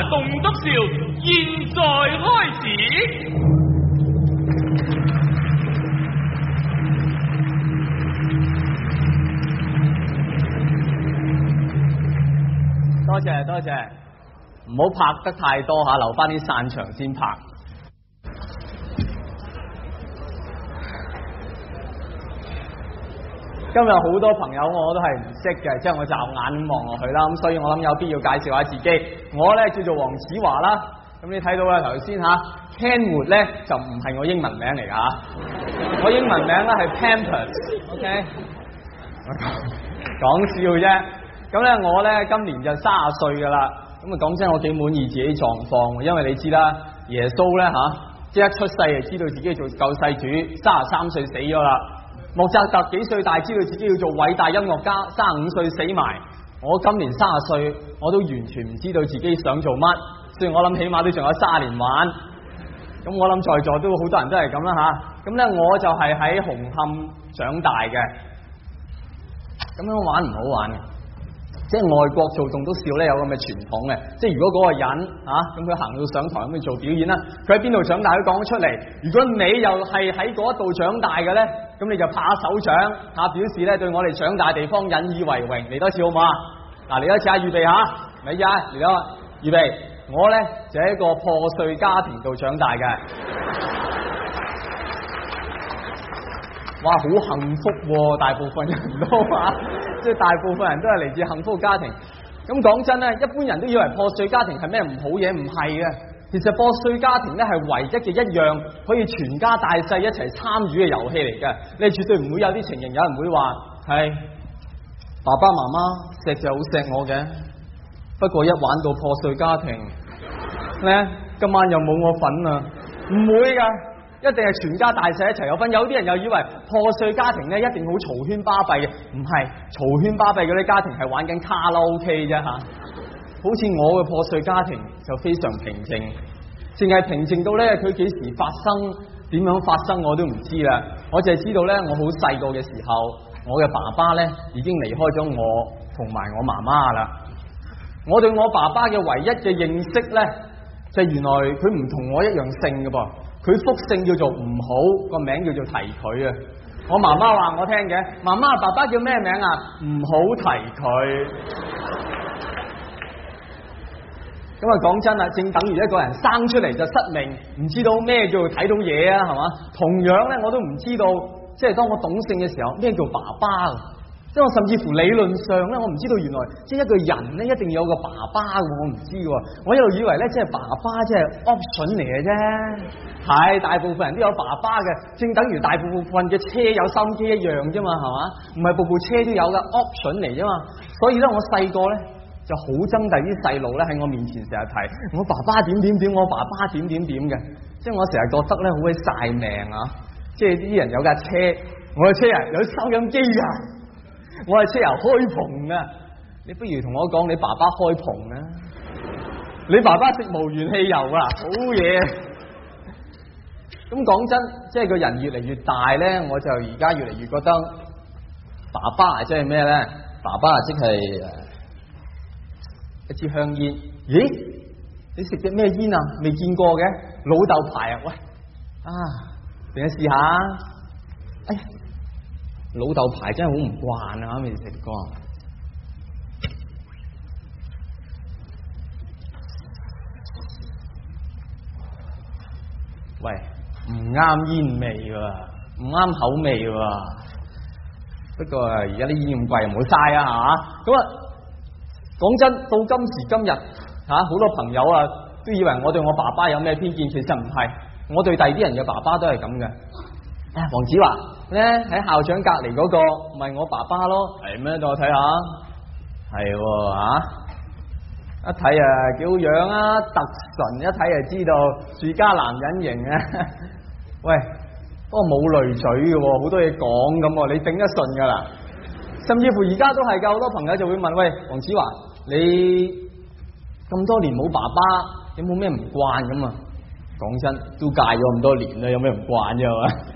棟篤笑，現在開始。 多謝多謝，唔好拍得太多嚇，留翻啲散場先拍。今日好多朋友我都係唔識嘅，即係我驟眼望落去啦，咁所以我諗有必要介紹下自己。我咧叫做黃子華啦，咁你睇到啦頭先嚇 Kenwood 咧就唔係我英文名嚟㗎嚇，我英文名咧係 Pampers，OK， 講笑啫。咁咧我咧今年就30歲㗎啦，咁啊講真我幾滿意自己狀況，因為你知啦，耶穌咧即係一出世就知道自己做救世主，33歲死咗啦。莫扎特幾歲大知道自己要做偉大音樂家，35歲死埋。我今年30歲，我都完全唔知道自己想做乜，所以我諗起碼都仲有30年玩。咁我諗在座都好多人都係咁啦嚇。咁咧我就係喺紅磡長大嘅，咁樣玩唔好玩嘅。即係外國做棟篤笑咧有咁嘅傳統嘅，即係如果嗰個人咁佢行到上台咁去做表演啦，佢喺邊度長大佢講咗出嚟。如果你又係喺嗰度長大嘅咧，咁你就拍手掌表示咧對我哋長大地方引以為榮。嚟多次好唔好啊？嗱，嚟多次啊，預備下，嚟啊，嚟咗，預備。我咧就喺一個破碎家庭度長大嘅。哇，好幸福喎！大部分人都話，即係大部分人都係嚟自幸福家庭。咁講真咧，一般人都以為破碎家庭係咩唔好嘢，唔係嘅。其實破碎家庭咧係唯一嘅一樣可以全家大細一齊參與嘅遊戲嚟嘅。你絕對唔會有啲情形，有人會話係爸爸媽媽錫就好錫我嘅，不過一玩到破碎家庭咧，今晚又冇我份啊！唔會㗎。一定係全家大細一齊有份。有啲人又以為破碎家庭咧一定好嘈喧巴閉嘅，唔係，嘈喧巴閉嗰啲家庭係玩緊卡拉 OK 啫嚇。好似我嘅破碎家庭就非常平靜，淨係平靜到咧佢幾時發生、點樣發生我都唔知啦。我淨係知道咧，我好細個嘅時候，我嘅爸爸咧已經離開咗我同埋我媽媽啦。我對我爸爸嘅唯一嘅認識咧，就係原來佢唔同我一樣姓嘅噃。佢複姓叫做唔好，個名叫做提佢啊！我媽媽話我聽嘅，媽媽爸爸叫咩名啊？唔好提佢。咁啊講真啦，正等於一個人生出嚟就失明，唔知道咩叫做睇到嘢啊，係嘛？同樣咧，我都唔知道，即係當我懂性嘅時候，咩叫爸爸啊？即係我甚至乎理論上咧，我唔知道原來即係一個人咧一定要有個爸爸嘅，我唔知喎。我一路以為咧，即係爸爸即係 option 嚟嘅啫。係，大部分人都有爸爸嘅，正等於大部分嘅車有收音機一樣啫嘛，係嘛？唔係部部車都有嘅 option 嚟啫嘛。所以咧，我細個咧就好憎第啲細路咧喺我面前成日提我爸爸點點點，我爸爸點點點嘅。即係我成日覺得咧好鬼晒命啊！即係啲人有架車，我嘅車啊有收音機㗎。我係車油開篷啊！你不如同我講你爸爸開篷啊！你爸爸食無鉛汽油啊！好嘢！咁講真，即係個人越嚟越大咧，我就而家越嚟越覺得爸爸即係咩咧？爸爸即係一支香煙。咦？你食隻咩煙啊？未見過嘅老豆牌啊！喂俾我試下。哎呀！老豆牌真係好唔慣啊！未食過。喂，唔啱煙味喎，唔啱口味喎。不過而家啲煙咁貴，唔好嘥啊嚇。咁啊，講真，到今時今日好多朋友啊都以為我對我爸爸有咩偏見，其實唔係。我對第啲人嘅爸爸都係咁嘅。黃子華咧喺校長隔離嗰個咪我爸爸咯，係咩？等我睇下，係一睇啊幾好樣啊，特純，一睇就知道住家男人型啊。喂，不過冇濾嘴嘅，好多嘢講咁，你頂得順噶啦。甚至乎而家都係噶，好多朋友就會問：喂，黃子華，你咁多年冇爸爸，有冇咩唔慣咁啊？講真，都戒咗咁多年啦，有咩唔慣啫嘛？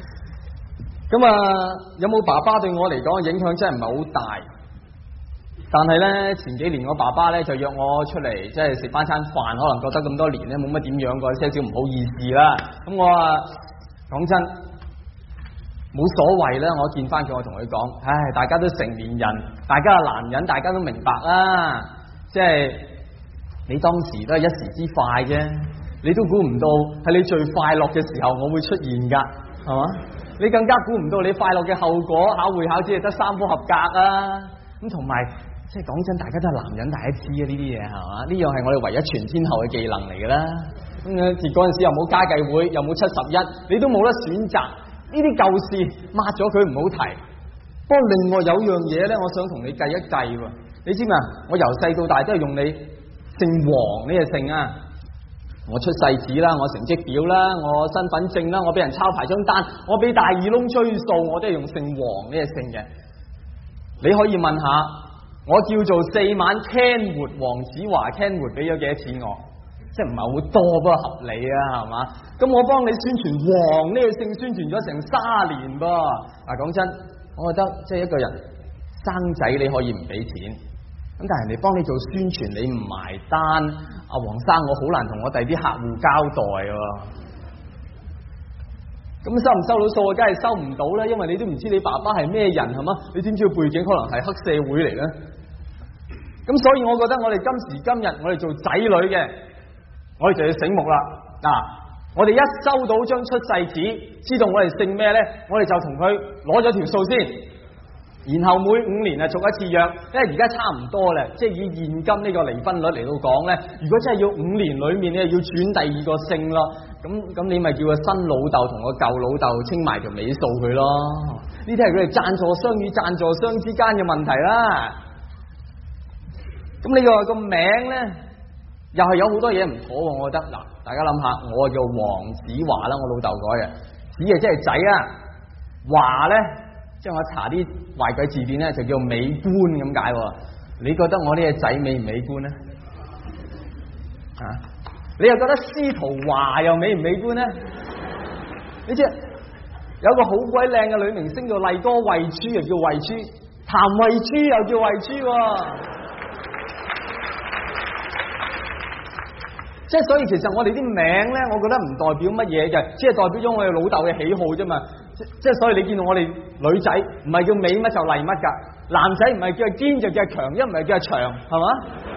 咁有冇爸爸對我嚟講影響真係唔係好大， 但係咧前幾年我爸爸咧就約我出嚟，即係食翻餐飯，可能覺得咁多年咧冇乜點樣過，些少唔好意思啦。咁我講真冇所謂啦，我見翻佢，我同佢講，唉，大家都成年人，大家係男人，大家都明白啦。即係你當時都係一時之快啫，你都估唔到係你最快樂嘅時候我會出現噶，係嘛？你更加估唔到你快樂嘅後果，考會考只係得3科合格啊！咁同埋。即係講真，大家都係男人，大家知啊呢啲嘢係嘛？呢樣係我哋唯一全天候嘅技能嚟㗎啦。咁嗰陣時又冇家計會，又冇71，你都冇得選擇。呢啲舊事抹咗佢唔好提。不過另外有樣嘢咧，我想同你計一計喎。你知唔知啊？我由細到大都係用你姓黃呢個姓啊。我出世紙啦，我成績表啦，我身份證啦，我俾人抄牌張單，我俾大耳窿追數，我都係用姓黃呢個姓嘅。你可以問下。我叫做4晚 Ken 活黃子華 Ken 活俾咗幾多錢我？即係唔係好多，不過合理啊，係嘛？咁我幫你宣傳黃呢個姓，宣傳咗成3年噃。講真，我覺得即係一個人生仔你可以唔俾錢，咁但係人哋幫你做宣傳你唔埋單，阿黃生我好難同我第啲客戶交代喎。咁收唔收到數啊？梗係收唔到啦，因為你都唔知你爸爸係咩人係嘛？你知唔知個背景可能係黑社會嚟咧？咁所以我覺得我哋今時今日我哋做仔女嘅，我哋就要醒目啦。我哋一收到張出世紙，知道我哋姓咩咧，我哋就同佢攞咗條數先。然後每5年啊續一次約，因為而家差唔多啦，即係以現今呢個離婚率嚟到講咧，如果真係要5年裏面你要轉第2個姓咯，咁你咪叫個新老豆同個舊老豆清埋條尾數佢咯。呢啲係佢哋贊助商與贊助商之間嘅問題啦。咁你個名咧，又係有好多嘢唔妥，我覺得嗱，大家諗下，我叫黃子華啦，我老豆改嘅，子啊即係仔啊，華咧。即係我查啲壞鬼字典咧，就叫美觀咁解。你覺得我呢個仔美唔美觀咧？你又覺得司徒華又美唔美觀咧？你知有個好鬼靚嘅女明星叫麗歌慧珠，又叫慧珠；譚慧珠又叫慧珠。即係所以，其實我哋啲名咧，我覺得唔代表乜嘢嘅，只係代表咗我哋老豆嘅喜好啫嘛。即係所以你見到我哋女仔唔係叫美乜就麗乜噶，男仔唔係叫堅就叫強，一唔係叫長，係嘛？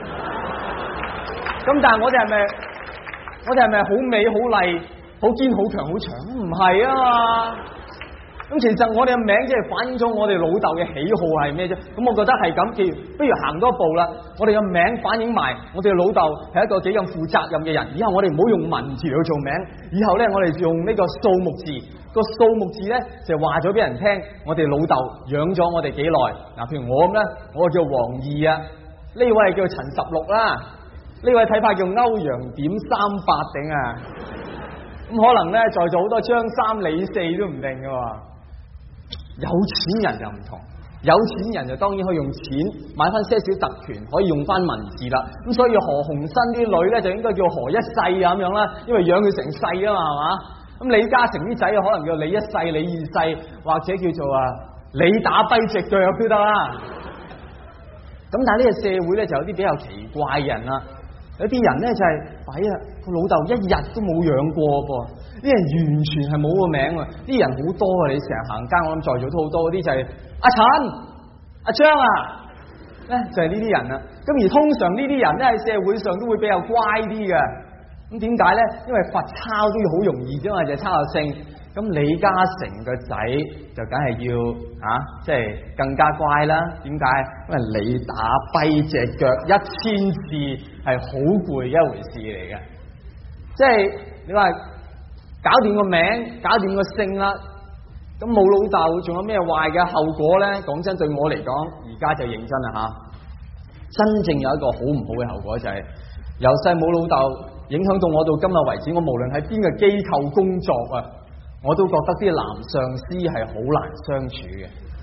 咁但係我哋係咪好美好麗好堅好強好長？唔係啊嘛。咁其實我哋嘅名即係反映咗我哋老豆嘅喜好係咩啫？咁我覺得係咁，不如行多一步啦。我哋嘅名反映埋我哋嘅老豆係一個幾咁負責任嘅人。以後我哋唔好用文字嚟做名，以後咧我哋用呢個數目字。個數目字咧就話咗俾人聽，我哋老豆養咗我哋幾耐。譬如我咁咧，我叫黃二啊，呢位係叫陳16啦，呢位睇怕叫歐陽點38頂啊。咁可能咧在座好多張3李4都唔定噶。有錢人就唔同，有錢人就當然可以用錢買翻些少特權，可以用翻文字啦。咁所以何鴻燊啲女咧就應該叫何一世咁樣啦，因為養佢成世啊嘛，係嘛？咁李嘉誠啲仔可能叫李1世、李2世，或者叫做李打跛隻腳都得啦。咁但係呢個社會咧就有啲比較奇怪嘅人啦，有啲人咧就係弊啊，個老豆1日都冇養過噃，啲人完全係冇個名啊，啲人好多啊，你成日行街我諗在座都好多，嗰啲就係阿陳、阿張啊，咧就係呢啲人啦。咁而通常呢啲人咧喺社會上都會比較乖啲嘅。咁點解咧？因為罰抄都要好容易啫嘛，就係抄下姓。咁李嘉誠個仔就梗係要即係更加乖啦。點解？因為你打跛隻腳1000字係好攰嘅一回事嚟嘅。即係你話搞掂個名，搞掂個姓啦，咁冇老豆，仲有咩壞嘅後果咧？講真，對我嚟講，而家就認真啦真正有一個好唔好嘅後果就係由細冇老豆。影響到我到今日為止，我無論喺邊個機構工作啊，我都覺得啲男上司係好難相處嘅。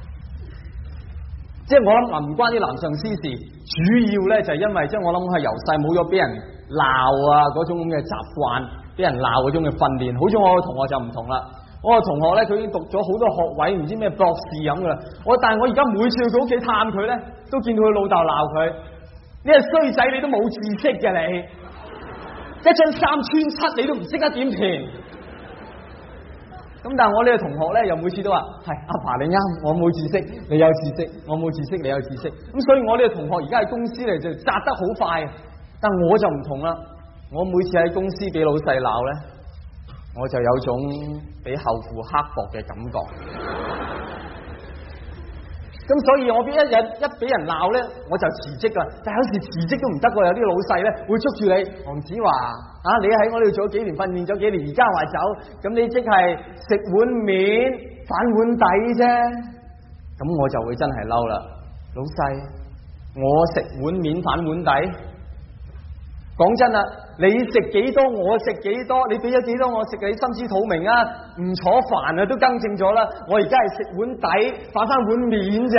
即係我諗唔關啲男上司事，主要咧就係因為即係我諗係由細冇咗俾人鬧啊嗰種咁嘅習慣，俾人鬧嗰種嘅訓練。好似我個同學就唔同啦， 我個同學咧，佢已經讀咗好多學位，唔知咩博士咁噶啦。但係我而家每次去佢屋企探佢咧，都見到佢老豆鬧佢：呢個衰仔，你都冇知識嘅你，一張3穿7你都唔識得點填。咁但係我呢個同學咧，又每次都話：係阿爸你啱，我冇知識，你有知識；我冇知識，你有知識。咁所以我呢個同學而家喺公司嚟就扎得好快，但我就唔同啦。我每次喺公司俾老細鬧咧，我就有種俾後父刻薄嘅感覺。咁所以我一俾人鬧咧，我就辭職噶。但係有時辭職都唔得喎，有啲老細咧會捉住你，黃子華啊，你喺我呢度做咗幾年，訓練咗幾年，而家話走，咁你即係食碗面反碗底啫。咁我就會真係嬲啦，老細，我食碗面反碗底。講真啦，你食幾多我食幾多，你俾咗幾多我食，你心知肚明啊！唔楚煩啊，都更正咗啦。我而家係食碗底反翻碗面咋。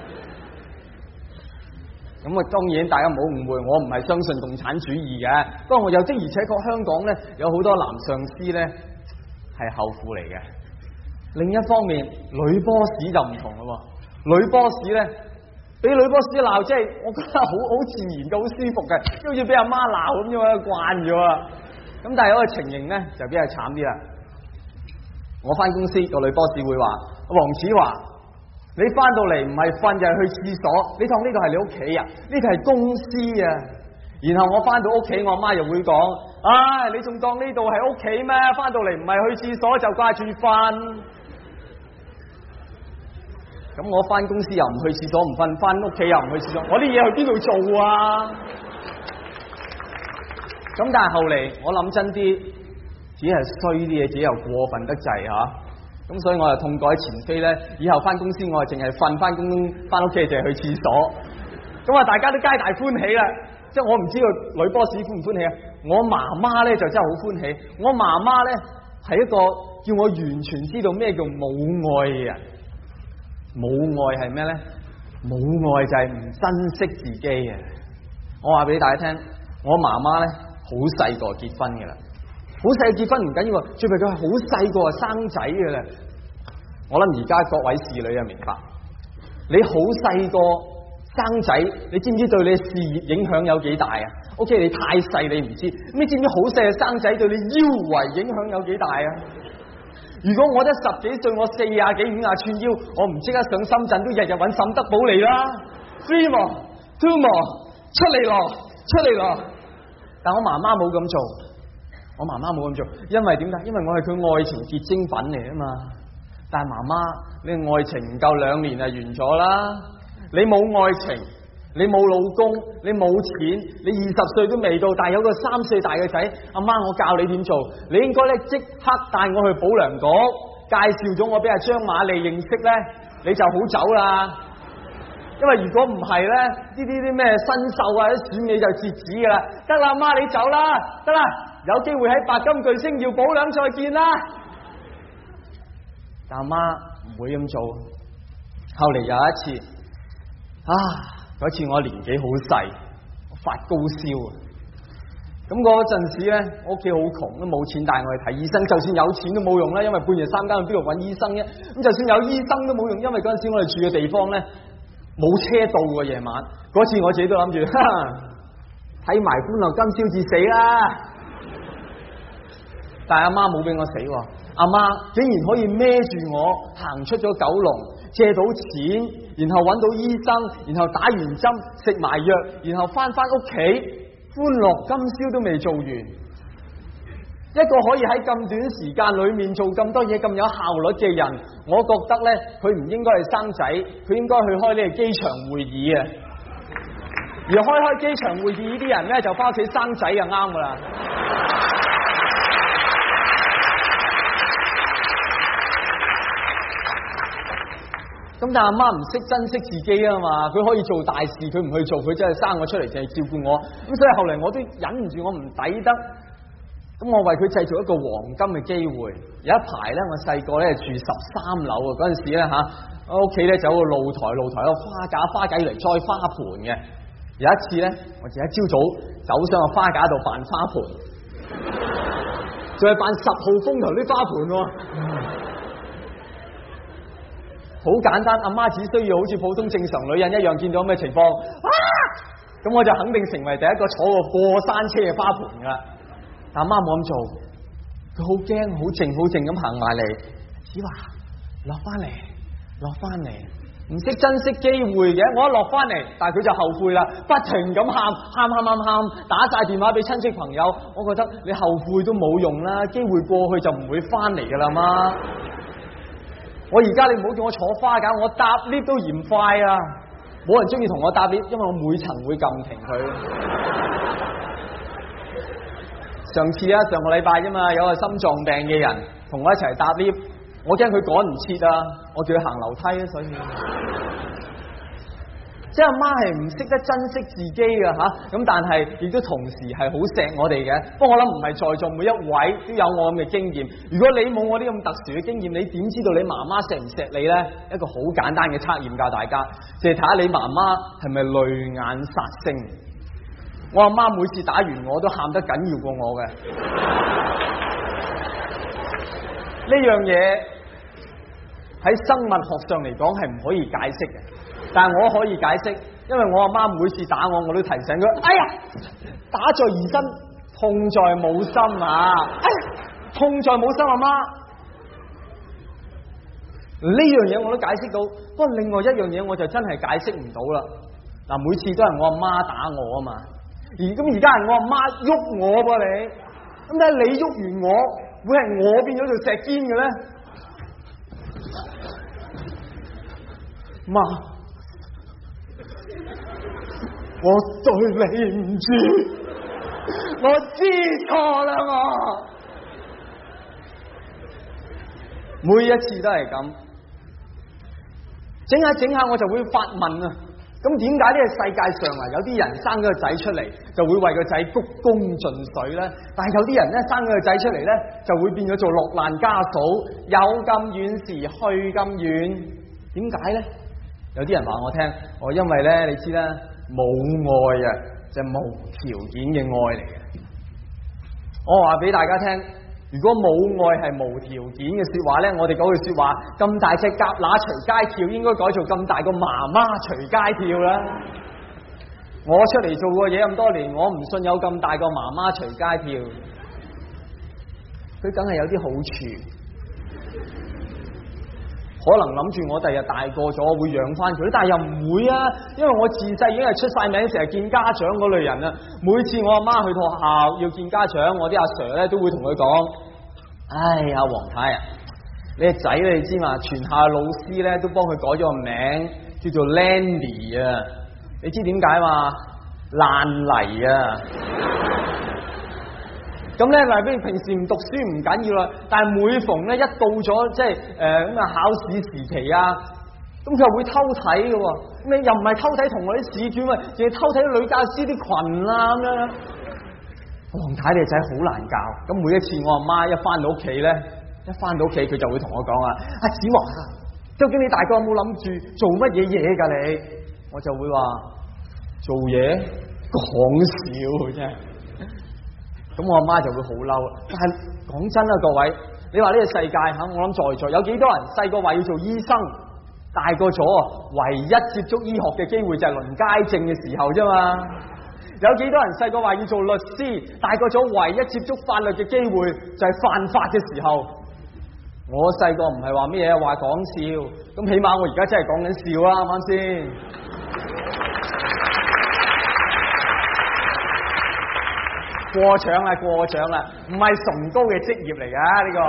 咁啊，當然大家唔好誤會，我唔係相信共產主義嘅。不過我又的而且確香港咧有好多男上司咧係後父嚟嘅。另一方面，女 boss 就唔同啦，女 boss 咧。俾女 boss 鬧，即係我覺得好自然嘅，好舒服嘅，好似俾阿媽鬧咁樣，慣咗啊。咁但係有個情形咧就比較慘啲啦。我翻公司個女 boss 會話：黃子華，你翻到嚟唔係瞓就係去廁所，你當呢度係你屋企啊？呢度係公司啊。然後我翻到屋企，我阿媽又會講：唉，你仲當呢度係屋企咩？翻到嚟唔係去廁所就掛住瞓。咁我翻公司又唔去廁所唔瞓，翻屋企又唔去廁所，我啲嘢去邊度做啊？咁但係後嚟我諗真啲，只係衰啲嘢，自己又過分得滯吓。咁所以我又痛改前非咧，以後翻公司我係淨係瞓，翻屋企淨係去廁所。咁啊，大家都皆大歡喜啦。即係我唔知道女 boss 歡唔歡喜啊？我媽媽咧就真係好歡喜。我媽媽咧係一個叫我完全知道咩叫母愛嘅人。母愛係咩咧？母愛就係唔珍惜自己嘅。我話俾大家聽，我媽媽咧好細個結婚嘅啦，好細結婚唔緊要，最弊佢係好細個就生仔嘅啦。我諗而家各位侍女啊明白，你好細個生仔，你知唔知對你事業影響有幾大啊 ？OK， 你太細你唔知，你知唔知好細嘅生仔對你腰圍影響有幾大啊？如果我得10幾歲，我40幾50寸腰，我唔即刻上深圳都日日揾沈德寶嚟啦。3 more 2 more 出嚟咯。但我媽媽冇咁做，我媽媽冇咁做，因為點解？因為我係佢愛情結晶品嚟啊嘛。但係媽媽，你愛情唔夠2年就完咗啦。你冇愛情，你冇老公，你冇錢，你20歲都未到，但係有個3歲大嘅仔，阿媽我教你點做，你應該咧即刻帶我去保良局，介紹咗我俾阿張瑪麗認識咧，你就好走啦。因為如果唔係咧，呢啲咩新秀啊，啲選美就截止噶啦。得啦，媽你走啦，得啦，有機會喺白金巨星耀保良再見啦。但阿媽唔會咁做。後嚟有一次嗰次我年紀好細，我發高燒啊！咁嗰陣時咧，我屋企好窮，都冇錢帶我去睇醫生。就算有錢都冇用啦，因為半夜3更去邊度揾醫生啫？咁就算有醫生都冇用，因為嗰陣時我哋住嘅地方咧冇車到喎，夜晚。嗰次我自己都諗住，睇埋歡樂今宵至死啦！但係阿媽冇俾我死喎，阿媽竟然可以孭住我行出咗九龍，借到錢，然後揾到醫生，然後打完針食埋藥，然後翻屋企，歡樂今宵都未做完。一個可以喺咁短時間裏面做咁多嘢咁有效率嘅人，我覺得咧佢唔應該係生仔，佢應該去開呢個機場會議啊！而開機場會議呢啲人咧就翻屋企生仔就啱噶啦。咁但係阿媽唔識珍惜自己啊嘛，佢可以做大事，佢唔去做，佢真係生我出嚟淨係照顧我。咁所以後嚟我都忍唔住，我唔抵得。咁我為佢製造一個黃金嘅機會。有一排咧，我細個咧住13樓啊，嗰陣時咧我屋企咧就有個露台有個花架要嚟栽花盆嘅。有一次咧，我就一朝早走上個花架度扮花盆，仲係扮10號風球啲花盆喎。 好簡單，阿媽只需要好似普通正常女人一樣，見到咩情況，咁我就肯定成為第一個坐過山車嘅花盆噶啦。但阿媽冇咁做，佢好驚，好靜好靜咁行埋嚟，子華落翻嚟，落翻嚟，唔識珍惜機會嘅。我一落翻嚟，但係佢就後悔啦，不停咁喊，打晒電話俾親戚朋友。我覺得你後悔都冇用啦，機會過去就唔會翻嚟噶啦媽。我而家你唔好叫我坐花架，我搭 lift 都嫌快啊！冇人中意同我搭 lift，因為我每層會撳停佢。上次啊，上個禮拜啫嘛，有個心臟病嘅人同我一齊搭 lift，我驚佢趕唔切啊，我叫佢行樓梯啊，所以即係阿媽係唔識得珍惜自己嘅吓，咁但係亦都同時係好錫我哋嘅。不過我諗唔係在座每一位都有我咁嘅經驗。如果你冇我啲咁特殊嘅經驗，你點知道你媽媽錫唔錫你呢？一個好簡單嘅測驗教大家，就係睇下你媽媽係咪淚眼殺星。我阿媽每次打完我都喊得緊要過我嘅。呢樣嘢喺生物學上嚟講係唔可以解釋嘅。但係我可以解釋，因為我阿媽每次打我，我都提醒佢：哎呀，打在兒身，痛在母心啊！哎呀，痛在母心，阿媽。呢樣嘢我都解釋到，不過另外一樣嘢我就真係解釋唔到啦。嗱，每次都係我阿媽打我啊嘛，而家係我阿媽喐我噃你，咁睇你喐完我，會係我變咗做石堅嘅咧？媽。我對你唔住，我知錯啦我。每一次都係咁，整下我就會發問啊，咁點解呢個世界上啊有啲人生咗個仔出嚟就會為個仔鞠躬盡瘁咧，但係有啲人咧生咗個仔出嚟咧就會變咗做落難家嫂，有咁遠時去咁遠，點解咧？有啲人話我聽，因為咧你知啦。冇愛啊，就係無條件嘅愛嚟嘅。我話俾大家聽，如果冇愛係無條件嘅說話咧，我哋嗰句說話，咁大隻蛤乸隨街跳，應該改做咁大個媽媽隨街跳啦。我出嚟做過嘢咁多年，我唔信有咁大個媽媽隨街跳，佢梗係有啲好處。可能諗住我第日大個咗會養翻佢，但係又唔會啊，因為我自細已經係出晒名，成日見家長嗰類人啊。每次我阿媽去到學校要見家長，我啲阿 Sir 咧都會同佢講：唉，阿黃太啊，你個仔你知嘛？全校老師咧都幫佢改咗個名，叫做 Landy 啊。你知點解嘛？爛泥啊！咁咧，嗱，比如平時唔讀書唔緊要啦，但係每逢咧一到咗即係咁啊考試時期啊，咁佢又會偷睇嘅喎。咁你又唔係偷睇同學啲試卷啊，淨係偷睇女教師啲裙啊咁樣。黃太你個仔好難教。咁每一次我阿媽一翻到屋企咧，佢就會同我講啊：阿子華，究竟你大個有冇諗住做乜嘢嘢㗎你？我就會話做嘢講笑啫。咁我阿媽就會好嬲啦。但係講真啦，各位，你話呢個世界吓，我諗在座有幾多人細個話要做醫生，大個咗唯一接觸醫學嘅機會就係輪街症嘅時候啫嘛。有幾多人細個話要做律師，大個咗唯一接觸法律嘅機會就係犯法嘅時候。我細個唔係話咩嘢，話講笑，咁起碼我而家真係講緊笑啦，啱唔啱先？過獎啦，唔係崇高嘅職業嚟噶呢個。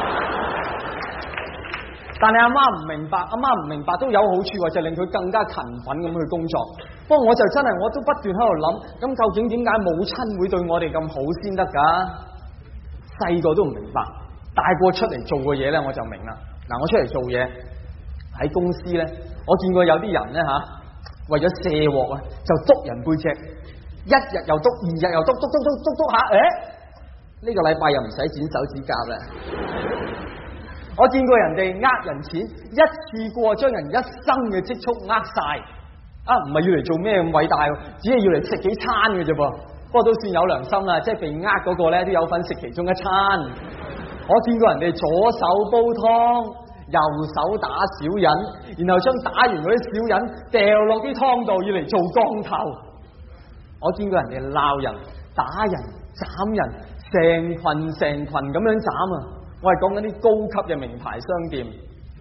但係阿媽唔明白都有好處，就令佢更加勤奮咁去工作。不過我就真係我都不斷喺度諗，咁究竟點解母親會對我哋咁好先得噶？細個都唔明白，大個出嚟做嘅嘢咧我就明啦。嗱，我出嚟做嘢喺公司咧，我見過有啲人咧吓，為咗卸鑊啊，就督人背脊。一日又督，二日又督下，呢個禮拜又唔使剪手指甲啦。我見過人哋呃人錢，一次過將人一生嘅積蓄呃晒，唔係要嚟做咩咁偉大，只係要嚟食幾餐嘅啫噃。不過都算有良心啦，即係被呃嗰個咧都有份食其中一餐。我見過人哋左手煲湯， 右手打小人，然後將打完嗰啲小人掉落啲湯度，要嚟做降頭。我見過人哋鬧人、打人、斬人，成群咁樣斬啊！我係講緊啲高級嘅名牌商店。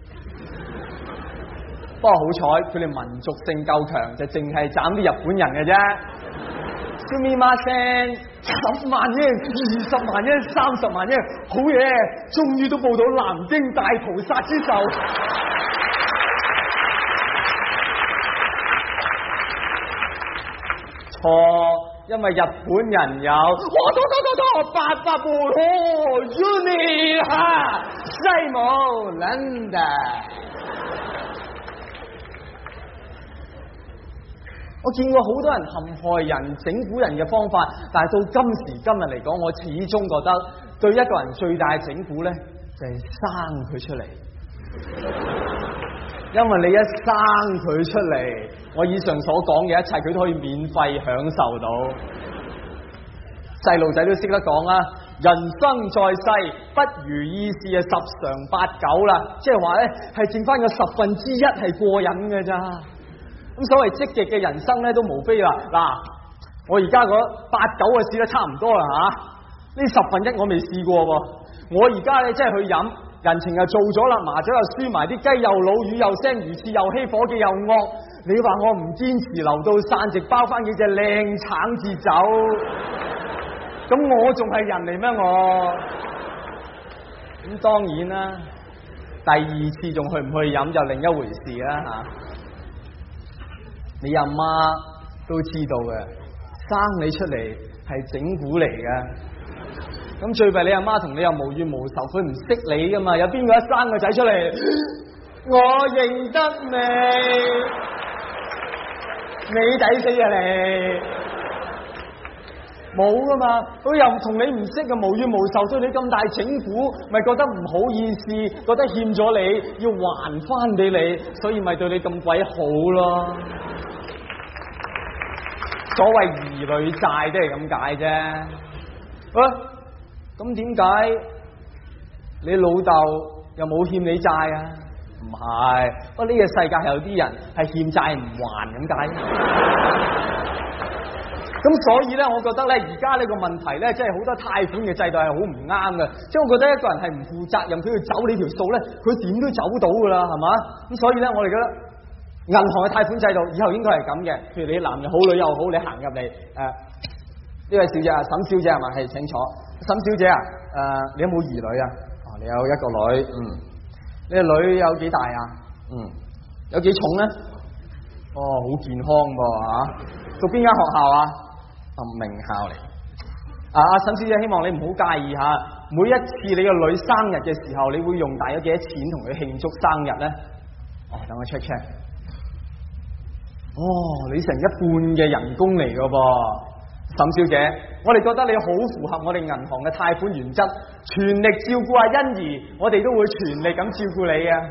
不過好彩，佢哋民族性夠強，就淨係斬啲日本人嘅啫。すみません，10萬啫，20萬啫，30萬啫，好嘢！終於都報到南京大屠殺之仇。錯，因為日本人有800部unit 哈，西姆倫敦。我見過好多人陷害人、整蠱人嘅方法，但係到今時今日嚟講，我始終覺得對一個人最大嘅整蠱呢，就係生佢出嚟。因為你一生佢出嚟，我以上所講嘅一切，佢都可以免費享受到。細路仔都識得講啦，人生在世不如意事啊，十常八九啦，即係話呢，係剩翻個1/10係過癮嘅咋。咁所謂積極嘅人生咧，都無非啦。嗱，我而家嗰8、9個試得差唔多啦嚇，呢1/10我未試過喎。我而家咧即係去飲，人情又做咗啦，麻雀又輸埋，啲雞又老，魚又腥，魚翅又稀，伙計又惡。你話我唔堅持留到散席，包翻幾隻靚橙至走，咁我仲係人嚟咩我？咁當然啦，第2次仲去唔去飲就另一回事啦嚇。你阿媽都知道嘅，生你出嚟係整蠱嚟嘅。咁最弊你阿媽同你又無怨無仇，佢唔識你噶嘛？有邊個一生個仔出嚟，我認得你抵死啊你！冇噶嘛，佢又同你唔識嘅，無怨無仇，對你咁大整蠱，咪覺得唔好意思，覺得欠咗你，要還翻俾你，所以咪對你咁鬼好咯。所謂兒女債都係咁解啫。咁點解你老豆又冇欠你債啊？唔係，不過呢個世界係有啲人係欠債唔還咁解。咁所以咧，我覺得咧，而家呢個問題咧，即係好多貸款嘅制度係好唔啱嘅。即係我覺得一個人係唔負責任，佢要走你條數咧，佢點都走到噶啦，係嘛？咁所以咧，我哋覺得銀行嘅貸款制度以後應該係咁嘅。譬如你男又好，女又好，你行入嚟呢位小姐啊，沈小姐係嘛？係，請坐。沈小姐啊，你有冇兒女啊？你有一個女，你個女有幾大啊？有幾重咧？好健康噃嚇。讀邊間學校啊？名校嚟。沈小姐，希望你唔好介意嚇。每一次你個女生日嘅時候，你會用大約幾多錢同佢慶祝生日咧？等我 check。你成1半嘅人工嚟噶噃，沈小姐，我哋覺得你好符合我哋銀行嘅貸款原則，全力照顧阿欣宜，我哋都會全力咁照顧你嘅，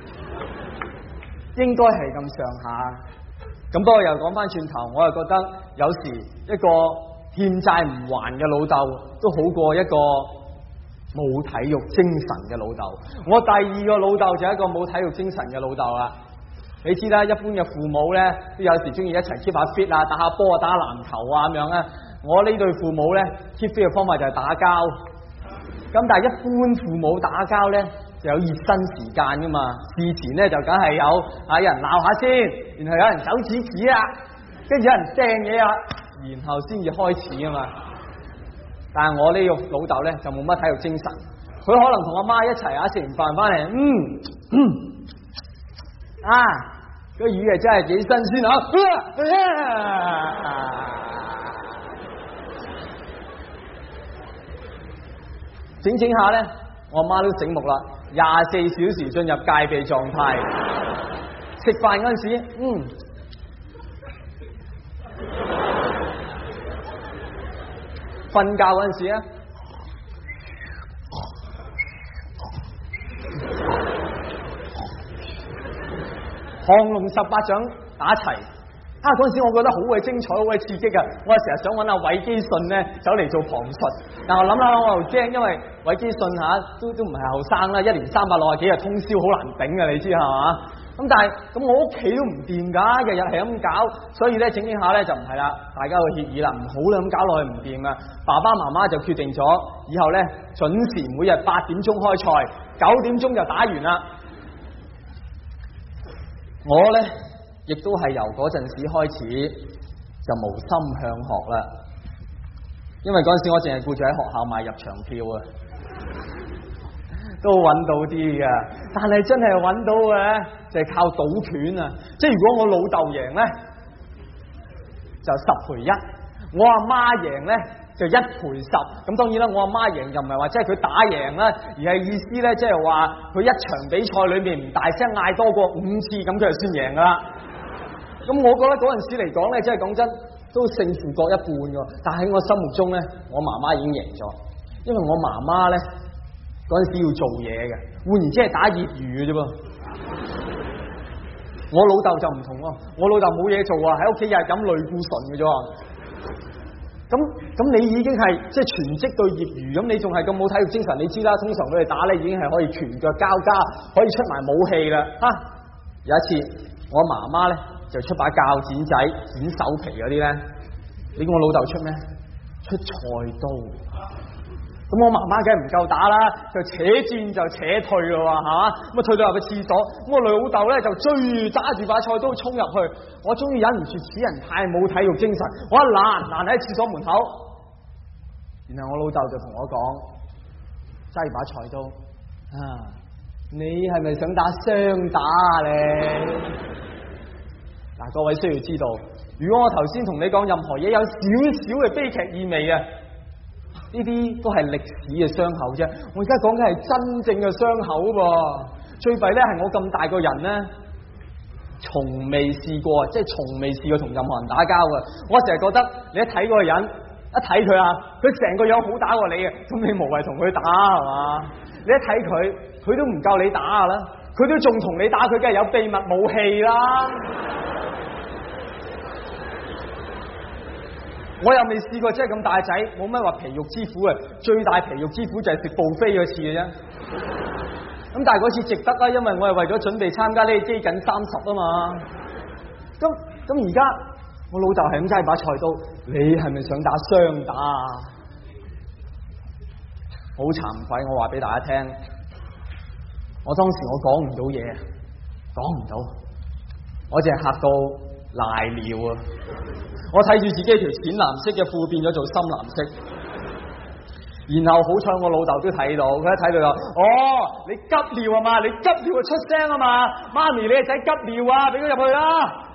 應該係咁上下。咁不過又講翻轉頭，我又覺得有時一個欠債唔還嘅老豆，都好過一個冇體育精神嘅老豆。我第2個老豆就係一個冇體育精神嘅老豆啦。你知啦，一般嘅父母咧，都有時中意一齊 keep 下 fit 啊，打下波啊，打下籃球啊咁樣啊。我呢對父母咧 keep fit 嘅方法就係打交。咁但係一般父母打交咧，就有熱身時間噶嘛。事前咧就梗係有人鬧下先，然後有人手指指啊，跟住有人掟嘢啊，然後先至開始啊嘛。但係我呢個老豆咧就冇乜體育精神，佢可能同阿媽一齊食完飯翻嚟，個魚係真係幾新鮮整整下咧，我阿媽都醒目啦，24小時進入戒備狀態。食飯嗰陣時，瞓覺嗰陣時啊，降龍18掌打齊， 嗰陣時我覺得好鬼精彩，好鬼刺激啊！我成日想揾阿韋基舜咧走嚟做旁述，但我諗下我又驚，因為韋基舜都唔係後生啦，1年360幾日通宵好難頂啊，你知係嘛？咁但係咁我屋企都唔掂㗎，日日係咁搞，所以咧整下咧就唔係啦，大家個協議啦，唔好啦，咁搞落去唔掂啊！爸爸媽媽就決定咗，以後咧準時每日8點鐘開賽，9點鐘就打完啦。我咧亦都係由嗰陣時開始就無心向學啦，因為嗰陣時我淨係顧住喺學校買入場票啊，都揾到啲㗎，但係真係揾到嘅就係靠賭拳啊！即係如果我老豆贏咧，就10賠1；我阿媽贏咧就1賠10。咁當然啦，我阿媽贏就唔係話即係佢打贏啦，而係意思咧即係話佢一場比賽裏面唔大聲嗌多過5次，咁佢就算贏㗎啦。咁我覺得嗰陣時嚟講咧，即係講真都勝負各一半㗎。但喺我心目中咧，我媽媽已經贏咗，因為我媽媽咧嗰陣時要做嘢嘅，換言之係打業餘嘅啫噃。我老豆就唔同喎，我老豆冇嘢做啊，喺屋企日日飲類固醇嘅啫。咁你已經係即係全職對業餘，咁你仲係咁冇體育精神，你知啦。通常佢哋打咧已經係可以拳腳交加，可以出埋武器啦。有一次我媽媽咧就出把鉸剪仔剪手皮嗰啲咧，你估我老豆出咩？出菜刀。咁我媽媽梗係唔夠打啦，就扯轉就扯退咯，係嘛？咁啊退到入個廁所，咁我老豆咧就追揸住把菜刀衝入去，我終於忍唔住，此人太冇體育精神，我一攔喺廁所門口，然後我老豆就同我講，揸住把菜刀你係咪想打雙打啊你？嗱，各位需要知道，如果我頭先同你講任何嘢有少少嘅悲劇意味啊，呢啲都係歷史嘅傷口啫。我而家講嘅係真正嘅傷口噃。最弊咧係我咁大個人咧，從未試過，即係從未試過同任何人打交嘅。我成日覺得你一睇嗰個人，一睇佢佢成個樣好打過你嘅，咁你無謂同佢打係嘛？你一睇佢都唔夠你打啦，佢都仲同你打，佢梗係有秘密武器啦。我又未試過，即係咁大仔，冇乜話皮肉之苦啊！最大皮肉之苦就係食 buffet 嗰次嘅啫。咁但係嗰次值得啦，因為我係為咗準備參加呢個基緊30啊嘛。咁而家我老豆係咁揸把菜刀，你係咪想打雙打啊？好慚愧，我話俾大家聽，我當時我講唔到嘢，講唔到，我淨係嚇到賴尿啊！我睇住自己條淺藍色嘅褲變咗做深藍色，然後好彩我老豆都睇到，佢一睇到就，你急尿啊嘛，你急尿就出聲啊嘛，媽咪你個仔急尿啊，俾佢入去啦。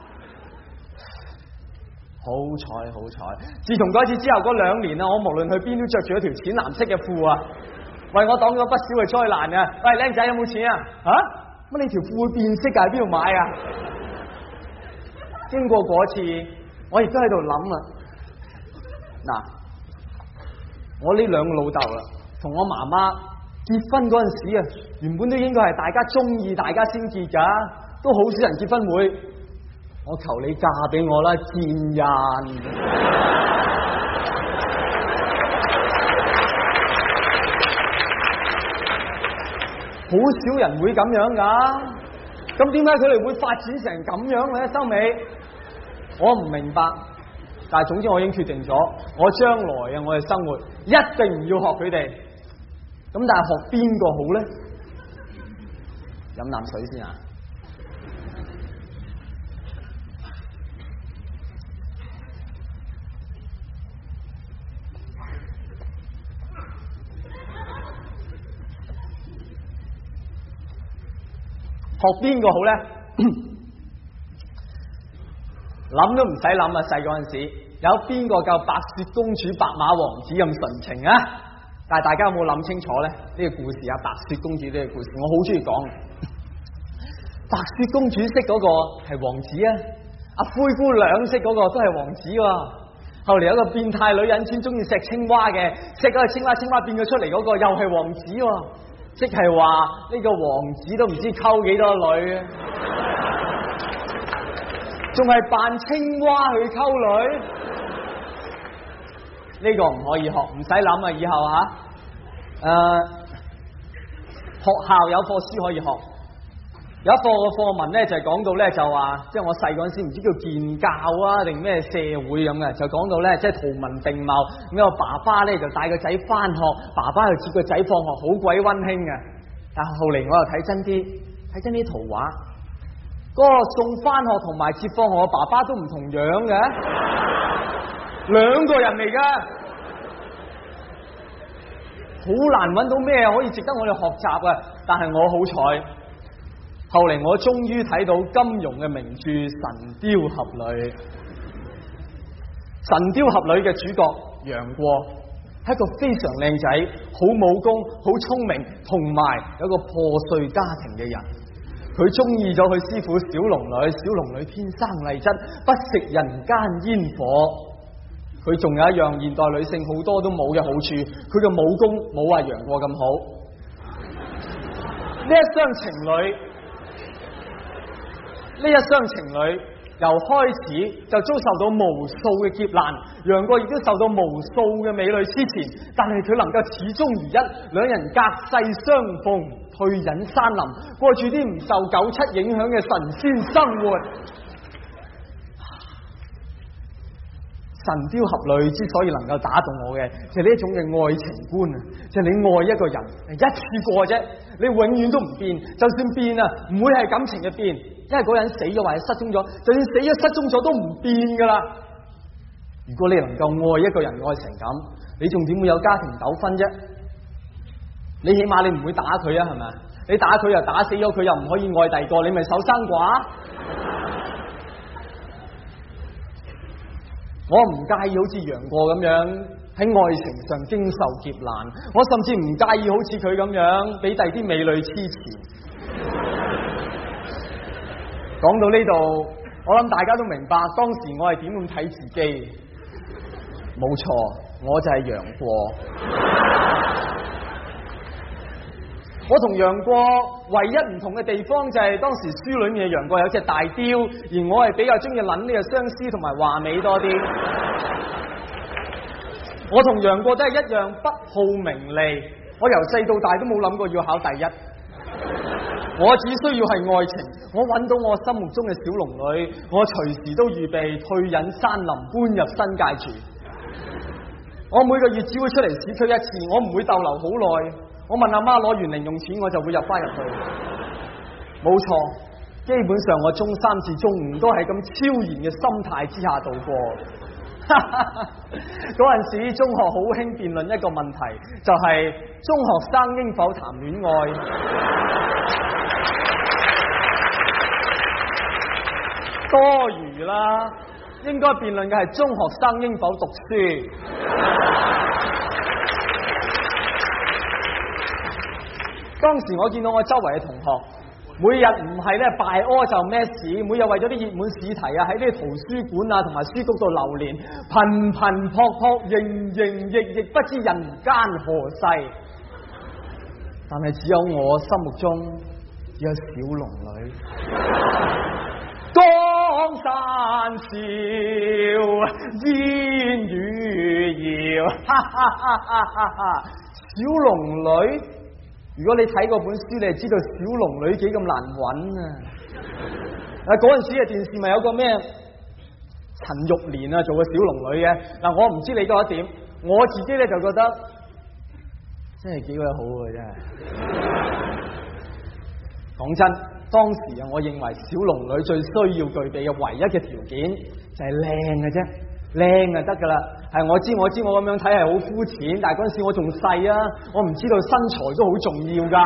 好彩，自從嗰次之後嗰2年啊，我無論去邊都着住一條淺藍色嘅褲啊，為我擋咗不少嘅災難啊！喂，靚仔有冇錢啊？乜你條褲會變色㗎？喺邊度買啊？經過嗰次，我亦都喺度諗啊，嗱，我呢2個老豆啦，同我媽媽結婚嗰陣時啊，原本都應該係大家中意大家先結噶，都好少人結婚會，我求你嫁俾我啦，賤人！好少人會咁樣噶，咁點解佢哋會發展成咁樣咧？收尾我唔明白，但係總之我已經決定咗，我將來啊，我嘅生活一定唔要學佢哋。咁但係學邊個好咧？飲啖水先啊！學邊個好咧？諗都唔使諗啊！細嗰陣時有邊個夠白雪公主、白馬王子咁純情啊？但係大家有冇諗清楚咧？呢個故事啊，白雪公主呢個故事，我好中意講。白雪公主識嗰個係王子啊，阿灰姑娘識嗰個都係王子喎。後嚟有個變態女人專中意食青蛙嘅，食嗰個青蛙變咗出嚟嗰個又係王子喎。即係話呢個王子都唔知溝幾多女啊！ 仲係扮青蛙去溝女，呢個唔可以學，唔使諗啊！以後學校有課書可以學，有一課嘅課文咧就係講到咧就話，即係我細嗰陣時唔知叫建教啊定咩社會咁嘅，就講到咧即係圖文並茂，咁個爸爸咧就帶個仔翻學，爸爸又接個仔放學，好鬼溫馨嘅。但係後嚟我又睇真啲圖畫，嗰個送翻學同埋接放學嘅爸爸都唔同樣嘅，兩個人嚟噶。好難揾到咩可以值得我哋學習啊！但係我好彩，後嚟我終於睇到金庸嘅名著《神雕俠侶》。《神雕俠侶》嘅主角楊過係一個非常靚仔、好武功、好聰明，同埋有一個破碎家庭嘅人。佢中意咗佢師傅小龍女，小龍女天生麗質，不食人間煙火。佢仲有一樣現代女性好多都冇嘅好處，佢嘅武功冇話楊過咁好。呢一雙情侶由開始就遭受到無數嘅劫難，楊過亦都受到無數嘅美女痴纏，但係佢能夠始終如一，兩人隔世相逢，退隱山林，過住啲唔受97影響嘅神仙生活。神雕俠侶之所以能夠打動我嘅，就係呢一種嘅愛情觀啊！就係你愛一個人一次過啫，你永遠都唔變，就算變啊，唔會係感情嘅變，因為嗰人死咗或者失蹤咗，就算死咗失蹤咗都唔變噶啦。如果你能夠愛一個人愛成咁，你仲點會有家庭糾紛啫？你起碼你唔會打佢啊，係咪？你打佢又打死咗佢，又唔可以愛第二個，你咪守生寡。我唔介意好似楊過咁樣喺愛情上經受劫難，我甚至唔介意好似佢咁樣俾第啲美女痴纏。講到呢度，我諗大家都明白當時我係點咁睇自己。冇錯，我就係楊過。我同楊過唯一唔同嘅地方就係當時書裏面嘅楊過有隻大雕，而我係比較中意諗呢個相思同埋華美多啲。我同楊過都係一樣不好名利，我由細到大都冇諗過要考第一。我只需要係愛情，我揾到我心目中嘅小龍女，我隨時都預備退隱山林，搬入新界住。我每個月只會出嚟市區一次，我唔會逗留好耐。我問阿媽攞完零用錢，我就會入翻入去。冇錯，基本上我中3至中5都係咁超然嘅心態之下度過。嗰陣時中學好興辯論一個問題，就係中學生應否談戀愛。多餘啦，應該辯論嘅係中學生應否讀書。當時我見到我周圍嘅同學，每日唔係咧拜柯就咩事，每日為咗啲熱門試題啊，喺呢啲圖書館啊同埋書局度流連，頻頻撲撲，營營役役，不知人間何世。但係只有我心目中只有小龍女。江山笑，煙雨遙，小龍女。如果你睇過本書，你就知道小龍女幾咁難揾啊！嗰陣時嘅電視咪有個咩陳玉蓮啊做個小龍女嘅。嗱，我唔知你覺得點，我自己咧就覺得真係幾鬼好嘅，真係。講真，當時啊，我認為小龍女最需要具備嘅唯一嘅條件就係靚嘅啫，靚就得噶啦。係我知我咁樣睇係好膚淺，但係嗰陣時我仲細啊，我唔知道身材都好重要噶。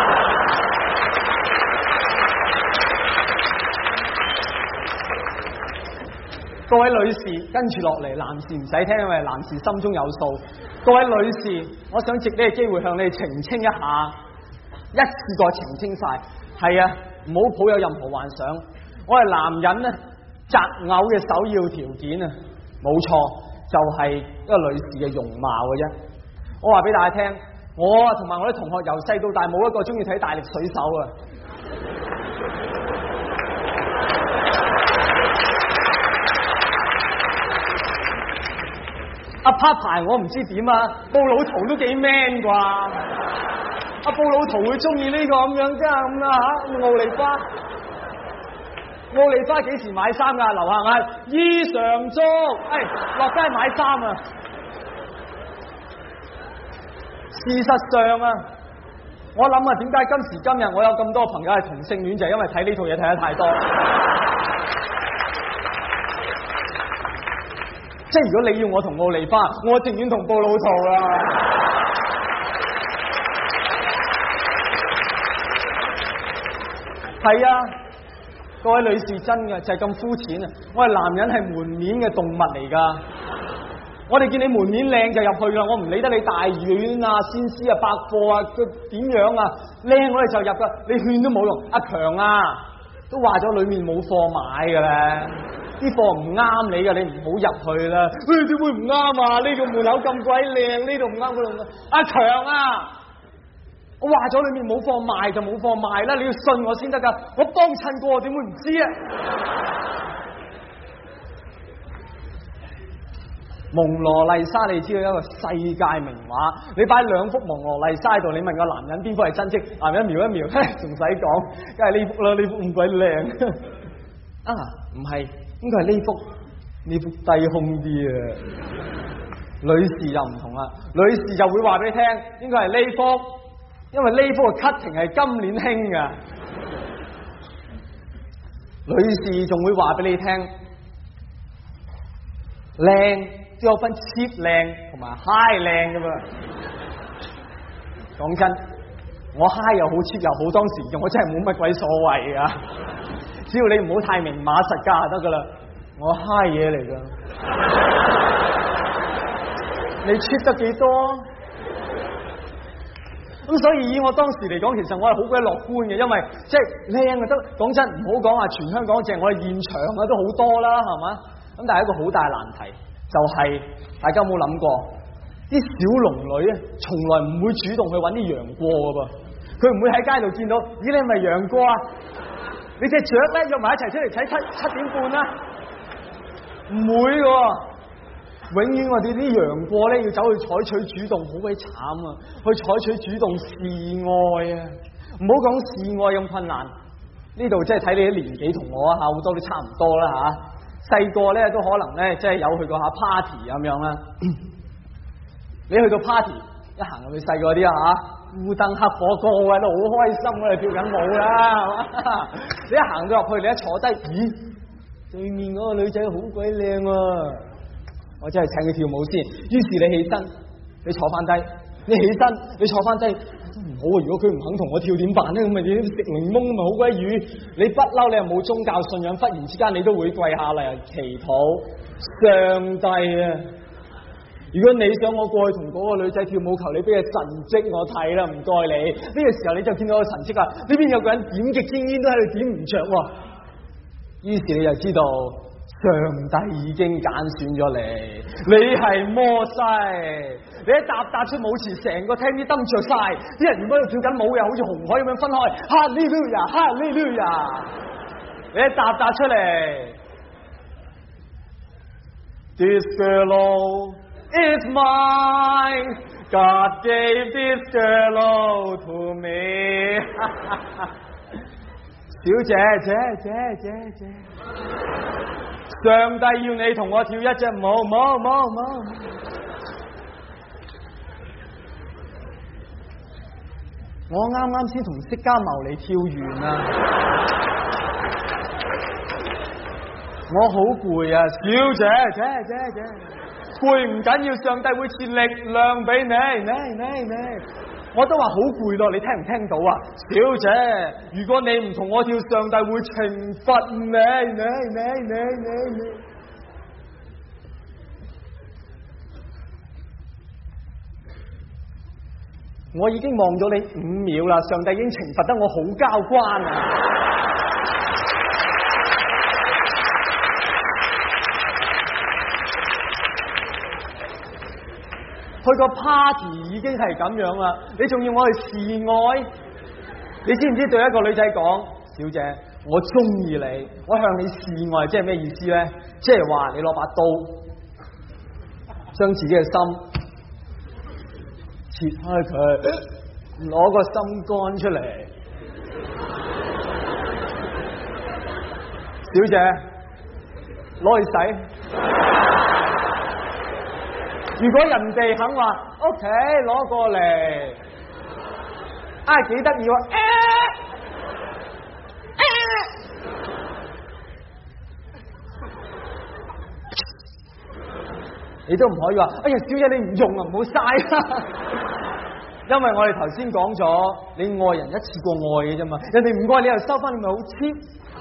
各位女士，跟住落嚟，男士唔使聽，因為男士心中有數。各位女士，我想藉呢個機會向你哋澄清一下，一次過澄清晒。係啊，唔好抱有任何幻想。我係男人咧，擇偶嘅首要條件啊，冇錯。就係一個女士嘅容貌嘅啫。我話俾大家聽，我同埋我啲同學由細到大冇一個中意睇大力水手啊。 阿拍牌我唔知點啊，布老圖都幾 man 啩？阿布老圖會中意呢個咁樣啫咁啦嚇，奧利花。奧利花幾時買衫㗎？樓下嗌衣裳足，落街買衫啊！事實上啊，我諗啊，點解今時今日我有咁多朋友係同性戀，就係因為睇呢套嘢睇得太多。即係如果你要我同奧利花，我情願同布老圖啦。係啊，各位女士真嘅就係咁膚淺啊！我係男人，係門面嘅動物嚟㗎。我哋見你門面靚就入去啦，我唔理得你大院啊、先施啊、百貨啊，佢點樣啊靚我哋就入㗎，你勸都冇用。阿強啊，都話咗裏面冇貨買㗎啦，啲貨唔啱你㗎，你唔好入去啦。點會唔啱啊？呢個門口咁鬼靚，呢度唔啱嗰度唔啱。阿強啊！我話咗裏面冇貨賣就冇貨賣啦，你要信我先得噶。我幫襯過，點會唔知啊？蒙羅麗莎你知道一個世界名畫，你擺兩幅蒙羅麗莎喺度，你問個男人邊幅係真跡，男人瞄一瞄，仲使講，梗係呢幅啦，呢幅咁鬼靚。啊，唔係，應該係呢幅低胸啲啊。女士就唔同啦，女士就會話俾你聽，應該係呢幅。因為呢幅嘅 cutting 係今年興㗎，女士仲會話俾你聽，靚都有分 cheap 靚同埋 high 靚㗎嘛。講真，我 high 又好 cheap 又好，當時我真係冇乜鬼所謂㗎，只要你唔好太明碼實價就得㗎啦。我 high 嘢嚟㗎，你 cheap 得幾多？咁所以以我當時嚟講，其實我係好鬼樂觀嘅，因為即係靚啊得。講真，唔好講話全香港淨係我哋現場啊都好多啦，係嘛？咁但係一個好大難題就係、大家有冇諗過，啲小龍女啊，從來唔會主動去揾啲楊過㗎噃，佢唔會喺街度見到，咦你係咪楊過啊？你隻雀咧約埋一齊出嚟睇七點半啦，唔會㗎。永遠我哋啲楊過咧要走去採取主動，好鬼慘啊！去採取主動示愛啊！唔好講示愛咁困難，呢度即係睇你啲年紀同我啊，好多都差唔多啦吓。細個咧都可能咧即係有去過下 party 咁樣啦。你去到 party 一行入去細個啲啊吓，烏燈黑火個個都好開心啊，跳緊舞啦，係嘛？你一行到入去，你一坐低，咦？對面嗰個女仔好鬼靚啊！我真係請佢跳舞先，於是你起身，你坐翻低，你起身，你坐翻低都唔好啊！如果佢唔肯同我跳點辦咧？咁咪你食檸檬咪好鬼魚？你不嬲，你又冇宗教信仰，忽然之間你都會跪下嚟祈禱上帝啊！如果你想我過去同嗰個女仔跳舞，求你俾個神蹟我睇啦，唔該你。呢個時候你就見到個神蹟啊！呢邊有個人點極支煙都喺度點唔着喎，於是你就知道。上帝已經揀選咗你係摩西，你一踏出舞池，成個廳啲燈着晒，啲人原本喺度跳緊舞，又好似紅海咁樣分開，哈利路亞，哈利路亞，你一踏出嚟 ，This girl is mine, God gave this girl to me 。小姐。上帝要你同我跳一隻舞，冇。我啱先同釋迦牟尼跳完啊，我好攰啊，小姐，攰唔緊要，上帝會賜力量俾你。我都話好攰咯，你聽唔聽到啊？小姐，如果你唔同我跳，上帝會懲罰你。我已經望咗你5秒啦，上帝已經懲罰得我好交關啊！去個 party 已經係咁樣啦，你仲要我去示愛？你知唔知對一個女仔講，小姐，我中意你，我向你示愛，即係咩意思咧？即係話你攞把刀將自己嘅心切開佢，攞個心肝出嚟。小姐，攞去洗。如果人哋肯話 OK， 攞過嚟，幾得意喎！你都唔可以話，哎呀，小姐你唔用啊，唔好嘥啦。因為我哋頭先講咗，你愛人一次過愛嘅啫嘛，人哋唔愛你又收翻，你咪好 cheap。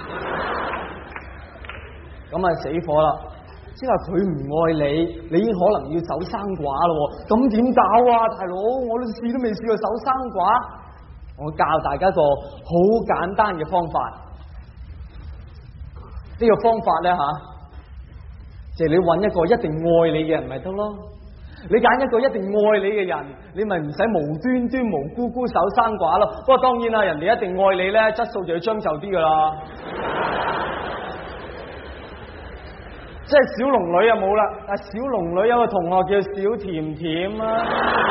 咁啊死火啦！即係話佢唔愛你，你已經可能要守生寡咯。咁點搞啊，大佬？我都試都未試過守生寡。我教大家一個好簡單嘅方法。呢個方法咧就係你揾一個一定愛你嘅人咪得咯。你揀一個一定愛你嘅人，你咪唔使無端端無辜辜守生寡咯。不過當然啦，人哋一定愛你咧，質素就要將就啲噶啦。即係小龍女就冇啦，但小龍女有個同學叫小甜甜啊。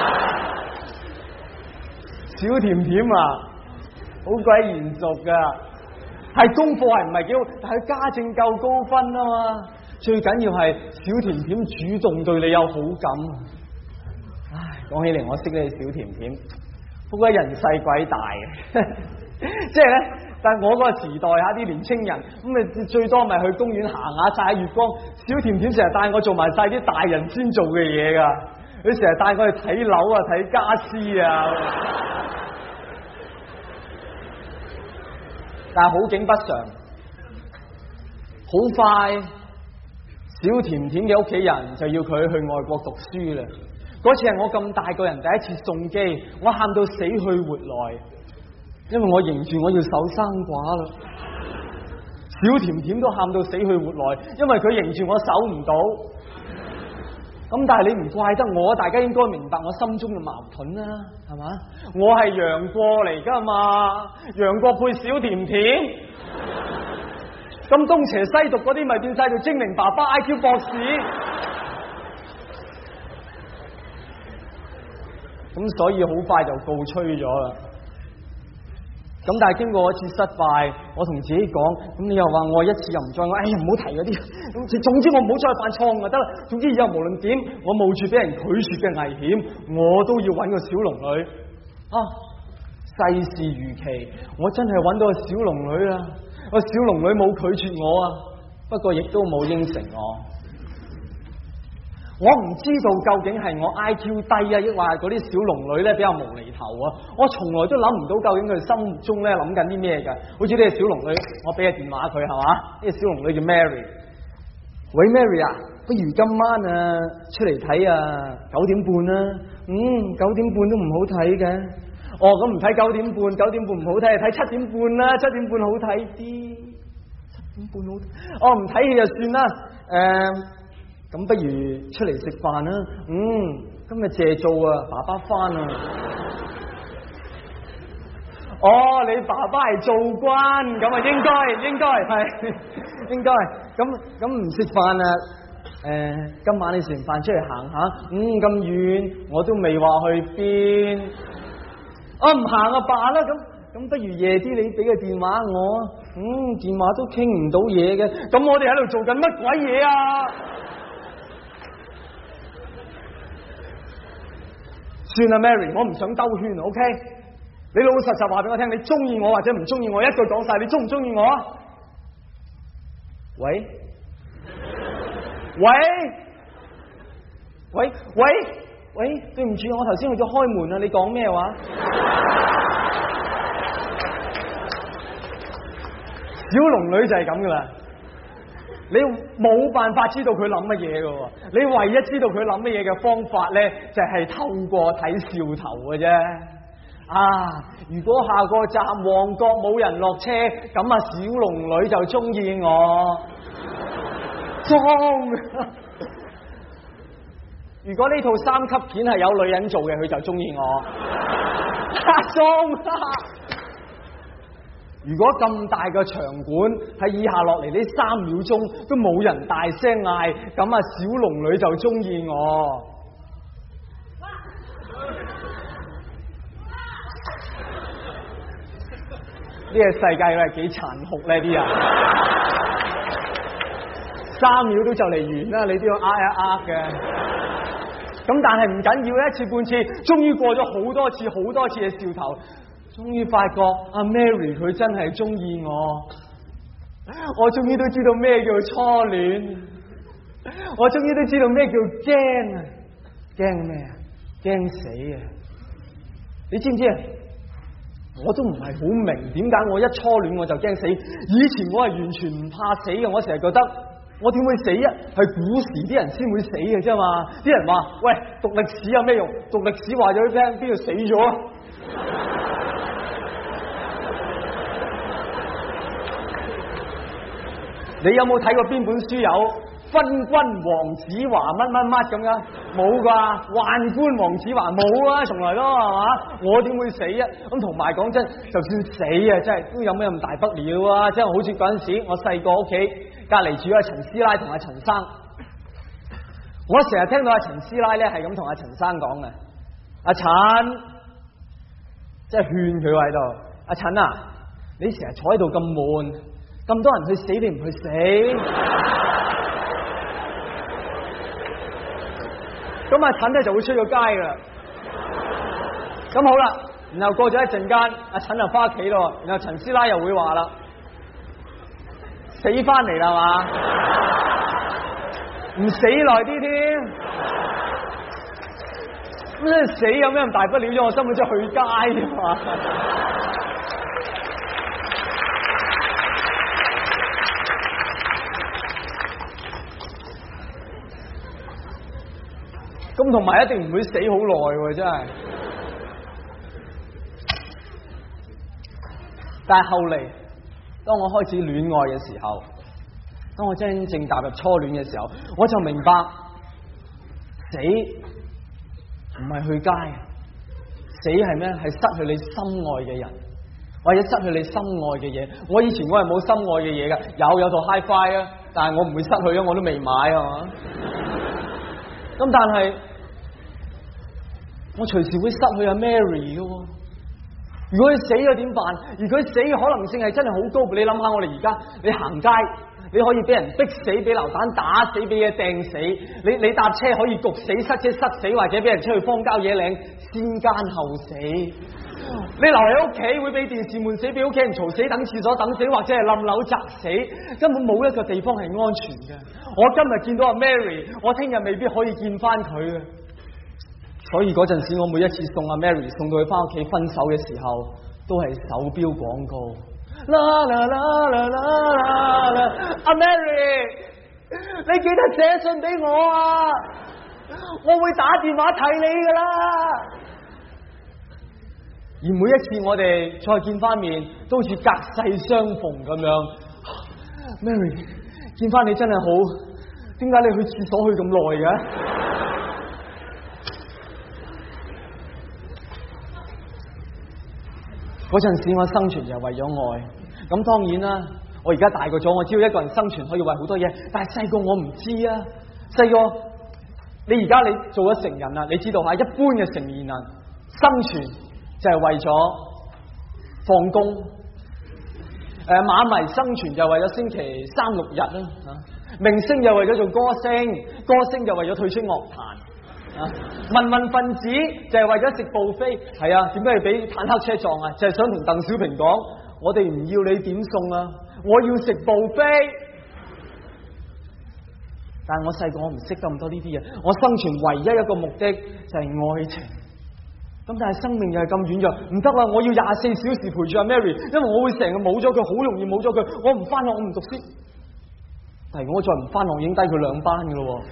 小甜甜啊，好鬼嚴肅噶，係功課係唔係幾好，但係家政夠高分啊嘛。最緊要係小甜甜主動對你有好感。唉，講起嚟我識呢個小甜甜，不過人細鬼大嘅，即係咧。但係我嗰個時代啲年青人咁咪最多咪去公園行下曬月光。小甜甜成日帶我做埋晒啲大人先做嘅嘢㗎，佢成日帶我去睇樓啊、睇家私啊。但係好景不常，好快小甜甜嘅屋企人就要佢去外國讀書啦。嗰次係我咁大個人第一次送機，我喊到死去活來。因為我認住我要守生寡啦，小甜甜都喊到死去活來，因為佢認住我守唔到。咁但係你唔怪得我，大家應該明白我心中嘅矛盾啦，係嘛？我係楊過嚟噶嘛，楊過配小甜甜，咁東邪西毒嗰啲咪變晒做精靈爸爸 IQ 博士。咁所以好快就告吹咗啦。咁但係經過一次失敗，我同自己講，咁你又話我一次又唔再愛，哎呀唔好提嗰啲，總之我唔好再犯錯誤就得啦。總之以後無論點，我冒住俾人拒絕嘅危險，我都要揾個小龍女。世事如棋，我真係揾到個小龍女啦！個小龍女冇拒絕我啊，不過亦都冇應承我。我唔知道究竟係我 IQ 低啊，抑或係嗰啲小龍女咧比較無厘頭啊！我從來都諗唔到究竟佢心目中咧諗緊啲咩㗎。好似呢個小龍女，我俾個電話佢係嘛？呢個小龍女叫 Mary。喂 Mary 啊，不如今晚出嚟睇9點半啦。9點半都唔好睇嘅。咁唔睇9點半，9點半唔好睇，睇7點半啦，7點半好睇啲。7點半好睇。唔睇戲就算啦。咁不如出嚟食飯啦。今日謝做爸爸返啊。你爸爸係做官，咁啊應該係應該。咁唔食飯啊？今晚你食完飯出嚟行下。咁遠我都未話去邊。唔行啊罷啦。咁不如夜啲你俾個電話我。電話都傾唔到嘢嘅。咁我哋喺度做緊乜鬼嘢啊？算啦 Mary， 我唔想兜圈 OK？ 你老老實實話俾我聽，你中意我或者唔中意我，一句講晒，你中唔中意我啊？喂，對唔住，我頭先去咗開門啊，你講咩話？小龍女就係咁噶啦，你冇辦法知道佢諗乜嘢噶，你唯一知道佢諗乜嘢嘅方法咧，就係透過睇笑頭嘅啫。如果下個站旺角冇人落車，咁小龍女就中意我。裝。如果呢套3級片係有女人做嘅，佢就中意我。裝。 如果咁大個場館喺以下落嚟呢3秒鐘都冇人大聲嗌，咁啊小龍女就中意我。呢個世界係幾殘酷呢啲人，3秒都就嚟完啦，你都要呃一呃嘅。咁但係唔緊要，一次半次，終於過咗好多次嘅兆頭，終於發覺阿 Mary 佢真係中意我，我終於都知道咩叫初戀，我終於都知道咩叫驚啊！驚咩啊？驚死啊！你知唔知啊？我都唔係好明點解我一初戀我就驚死。以前我係完全唔怕死嘅，我成日覺得我點會死啊？係古時啲人先會死嘅啫嘛。啲人話：喂，讀歷史有咩用？讀歷史話咗俾你聽，邊度死咗啊？你有冇睇過邊本書有昏君黃子華乜乜乜咁樣？冇啩，宦官黃子華冇啊，從來都係嘛？我點會死啊？咁同埋講真，就算死啊，真係都有咩咁大不了啊？即係好似嗰陣時我細個屋企隔籬住阿陳師奶同阿陳生，我成日聽到阿陳師奶咧係咁同阿陳生講嘅，阿陳，即係勸佢喺度，阿陳啊，你成日坐喺度咁悶，咁多人去死你唔去死？咁阿陳咧就會出咗街噶啦。咁好啦，然後過咗一陣間，阿陳就翻屋企咯，然後陳師奶又會話啦，死翻嚟啦嘛，唔死耐啲添。咁死有咩咁大不了啫？我根本即係去街啫嘛。咁同埋一定唔會死好耐喎，真係。但係後嚟，當我開始戀愛嘅時候，當我真正踏入初戀嘅時候，我就明白死唔係去街，死係咩？係失去你心愛嘅人，或者失去你心愛嘅嘢。我以前我係冇心愛嘅嘢㗎，有套 Hi-Fi 啊，但係我唔會失去啊，我都未買係嘛。咁但係我隨時會失去阿 Mary 嘅喎。如果佢死咗點辦？而佢死嘅可能性係真係好高。你諗下，我哋而家你行街，你可以俾人逼死，俾流彈打死，俾嘢掟死。你搭車可以焗死、塞車塞死，或者俾人出去荒郊野嶺先奸後死。你留喺屋企會俾電視悶死，俾屋企人嘈死，等廁所等死，或者係冧樓砸死，根本冇一個地方係安全嘅。我今日見到阿 Mary， 我聽日未必可以見翻佢嘅。所以嗰陣時，我每一次送阿 Mary 送到佢翻屋企分手嘅時候，都係手錶廣告。啦啦啦啦啦啦！阿 Mary， 你記得寫信俾我啊！我會打電話睇你噶啦。而每一次我哋再見翻面，都好似隔世相逢咁樣。Mary， 見翻你真係好，點解你去廁所去咁耐嘅？嗰陣時我生存就係為咗愛，咁當然啦，我而家大個咗，我知道一個人生存可以為好多嘢，但係細個我唔知啊。細個你而家你做咗成人啦，你知道吓，一般嘅成年人生存就係為咗放工，馬迷生存就係為咗星期3、6日啦，明星就為咗做歌星，歌星就為咗退出樂壇。民分子就係為咗食 buffet， 係啊，點解要俾坦克車撞啊？就係想同鄧小平講，我哋唔要你點餸啊，我要食 buffet。但係我細個我唔識咁多呢啲嘢，我生存唯一一個目的就係愛情。咁但係生命又係咁軟弱，唔得啦！我要24小時陪住阿 Mary， 因為我會成日冇咗佢，好容易冇咗佢。我唔翻學，我唔讀書。但係如果我再唔翻學，已經低佢2班噶咯。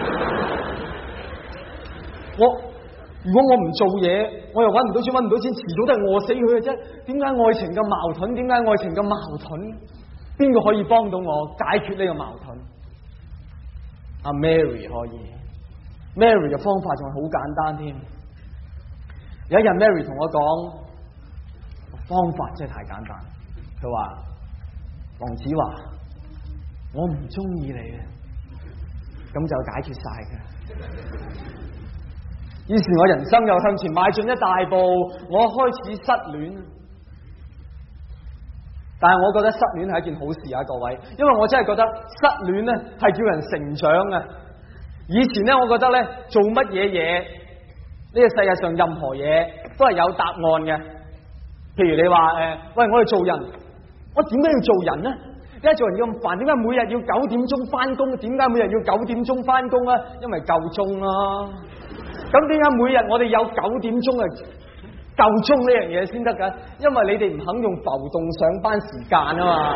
如果我唔做嘢，我又搵唔到錢，搵唔到錢，遲早都係餓死佢嘅啫。點解愛情咁矛盾？點解愛情咁矛盾？邊個可以幫到我解決呢個矛盾？阿 Mary 可以。Mary 嘅方法仲係好簡單添。有一日 Mary 同我講，方法真係太簡單。 佢話黃子華，我唔中意你啊，咁就解決晒嘅。於是我人生又向前邁進一大步，我開始失戀。但係我覺得失戀係一件好事啊，各位，因為我真係覺得失戀咧係叫人成長啊。以前咧，我覺得咧做乜嘢呢個世界上任何嘢都係有答案嘅。譬如你話喂，我哋做人，我點解要做人呢？點解做人要咁煩？點解每日要9點鐘翻工？點解每日要9點鐘翻工啊？因為夠鐘啦。咁點解每日我哋有9點鐘啊？夠鐘呢樣嘢先得噶？因為你哋唔肯用浮動上班時間啊嘛。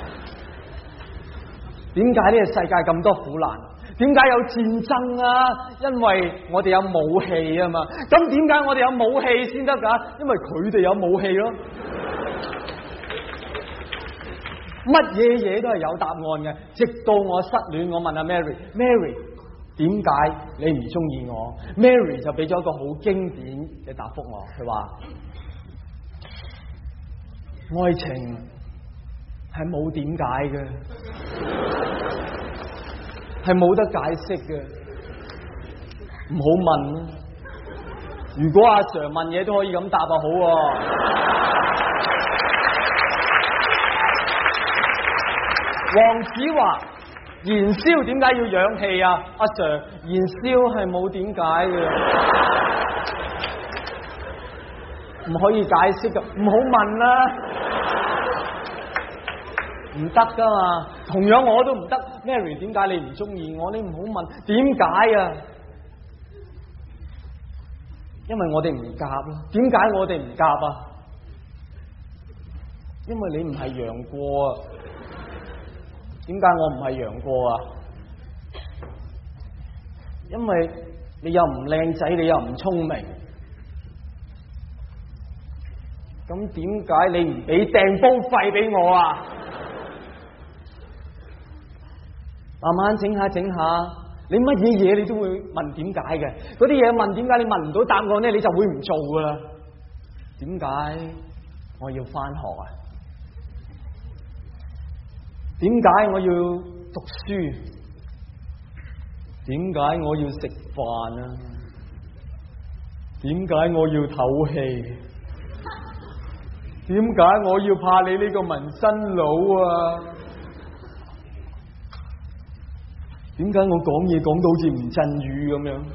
點解呢個世界咁多苦難？點解有戰爭啊？因為我哋有武器啊嘛。咁點解我哋有武器先得噶？因為佢哋有武器咯。乜嘢嘢都係有答案嘅。直到我失戀，我問阿 Mary， 點解你唔中意我？ Mary 就俾咗一個好經典嘅答覆我，佢話愛情係冇點解嘅，係冇得解釋嘅，唔好問啦。如果阿 Sir 問嘢都可以咁答啊，好喎。黃子華，燃燒點解要氧氣啊？阿 Sir， 燃燒係冇點解嘅，唔可以解釋嘅，唔好問啦，唔得噶嘛。同樣我都唔得。Mary， 點解你唔中意我？你唔好問點解啊？因為我哋唔夾咯。點解我哋唔夾啊？因為你唔係楊過啊。點解我唔係楊過啊？因為你又唔靚仔，你又唔聰明。咁點解你唔俾訂煲費俾我啊？慢慢整下整下，你乜嘢嘢你都會問點解嘅。嗰啲嘢問點解，你問唔到答案咧，你就會唔做噶啦。點解我要返學啊？點解我要讀書？點解我要食飯啊？點解我要唞氣？點解我要怕你呢個紋身佬啊？點解我講嘢講到好似吳鎮宇咁樣？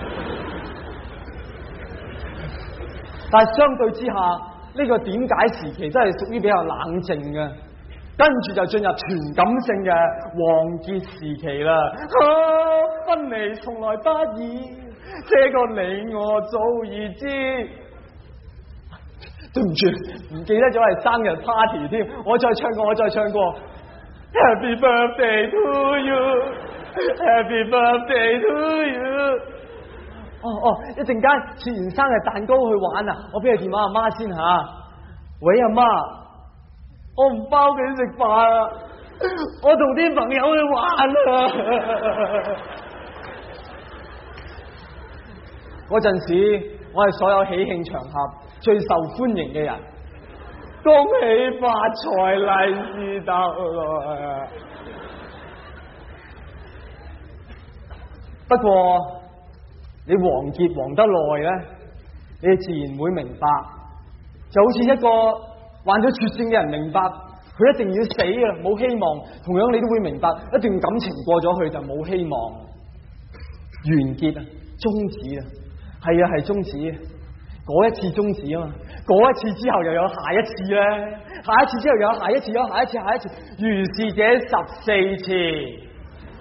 但係相對之下，呢個點解時期真係屬於比較冷靜嘅。跟住就進入全感性嘅王傑時期啦。分離從來不易，這個你我早已知。對唔住，唔記得咗係生日 party 添。我再唱過。Happy birthday to you, Happy birthday to you。一陣間切完生日蛋糕去玩啊！我俾個電話阿媽先吓。喂，阿媽。我唔包佢食飯啊！我同啲朋友去玩啊！嗰陣時，我係所有喜慶場合最受歡迎嘅人。恭喜發財，利是到來。不過你黃傑黃得耐咧，你自然會明白，就好似一個患咗絕症嘅人明白佢一定要死啊，冇希望。同樣你都會明白，一段感情過咗去就冇希望，完結啊，終止啊，係終止。嗰一次終止啊嘛，嗰一次之後又有下一次咧，下一次之後又有下一次，有下一次，下一次，如是者14次。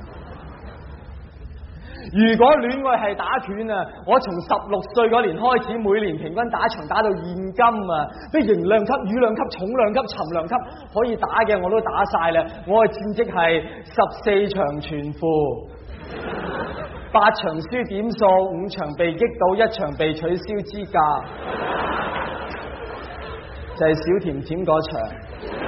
如果戀愛係打拳啊，我從16歲嗰年開始，每年平均打場打到現今啊，啲型量級、羽量級、重量級、沉量級可以打嘅我都打晒啦。我嘅戰績係14場全負，8場輸點數，5場被擊倒，1場被取消資格，就係小甜甜嗰場。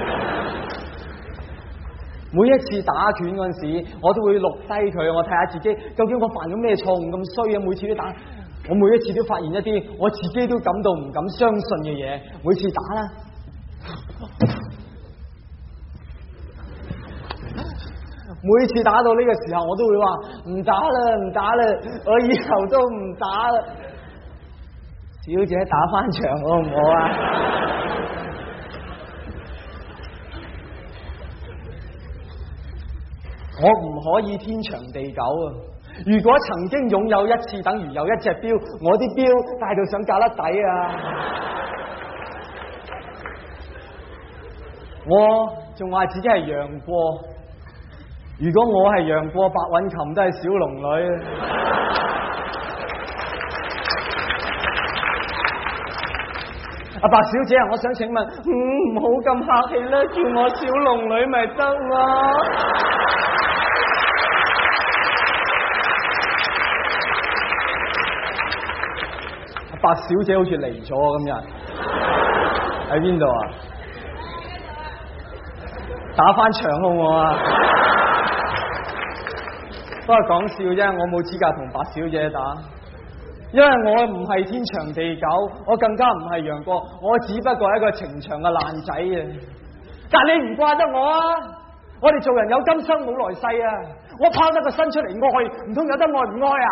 每一次打拳嗰陣時，我都會錄低佢，我睇下自己究竟我犯咗咩錯誤咁衰啊！每次都打，我每一次都發現一啲我自己都感到唔敢相信嘅嘢。每次打啦， 每次打到呢個時候，我都會話唔打啦，唔打啦，我以後都唔打啦。小姐打翻場好唔好啊？我唔可以天長地久啊！如果曾經擁有一次，等於有一隻錶，我啲錶戴到上架甩底啊！我仲話自己係楊過，如果我係楊過，白韻琴都係小龍女。阿白小姐啊，我想請問，唔好咁客氣啦，叫我小龍女咪得咯。阿白小姐好似嚟咗今日，喺邊度啊？打翻場好唔好啊？都係講笑啫，我冇資格同白小姐打。因為我唔係天長地久，我更加唔係楊過，我只不過係一個情場嘅爛仔啊！但你唔怪得我啊！我哋做人有今生冇來世啊！我拋得個身出嚟愛，唔通有得愛唔愛啊？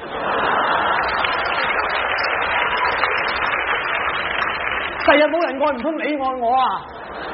第日冇人愛，唔通你愛我啊？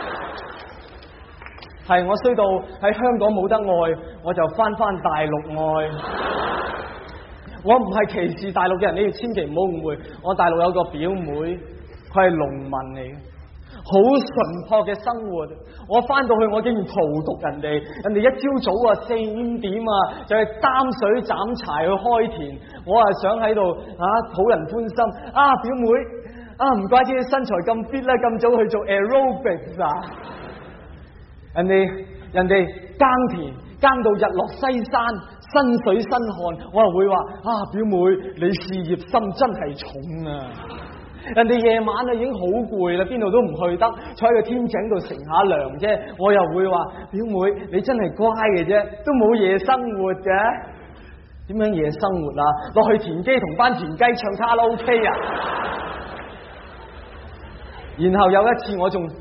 係我衰到喺香港冇得愛，我就翻大陸愛。我唔係歧視大陸嘅人，你哋千祈唔好誤會。我大陸有個表妹，佢係農民嚟嘅，好淳樸嘅生活。我翻到去，我竟然荼毒人哋。人哋一朝早啊4、5點啊就去擔水斬柴去開田，我啊想喺度討人歡心。表妹唔怪之你身材咁 fit 啦，咁早去做 aerobics 啊！人哋耕田耕到日落西山，身水身汗，我又會話表妹你事業心真係重啊！人哋夜晚已經好攰啦，邊度都唔去得，坐喺個天井度乘下涼啫。我又會話表妹你真係乖嘅啫，都冇夜生活嘅。點樣夜生活啊？落去田基同班田雞唱卡拉 OK 啊！然後有一次我仲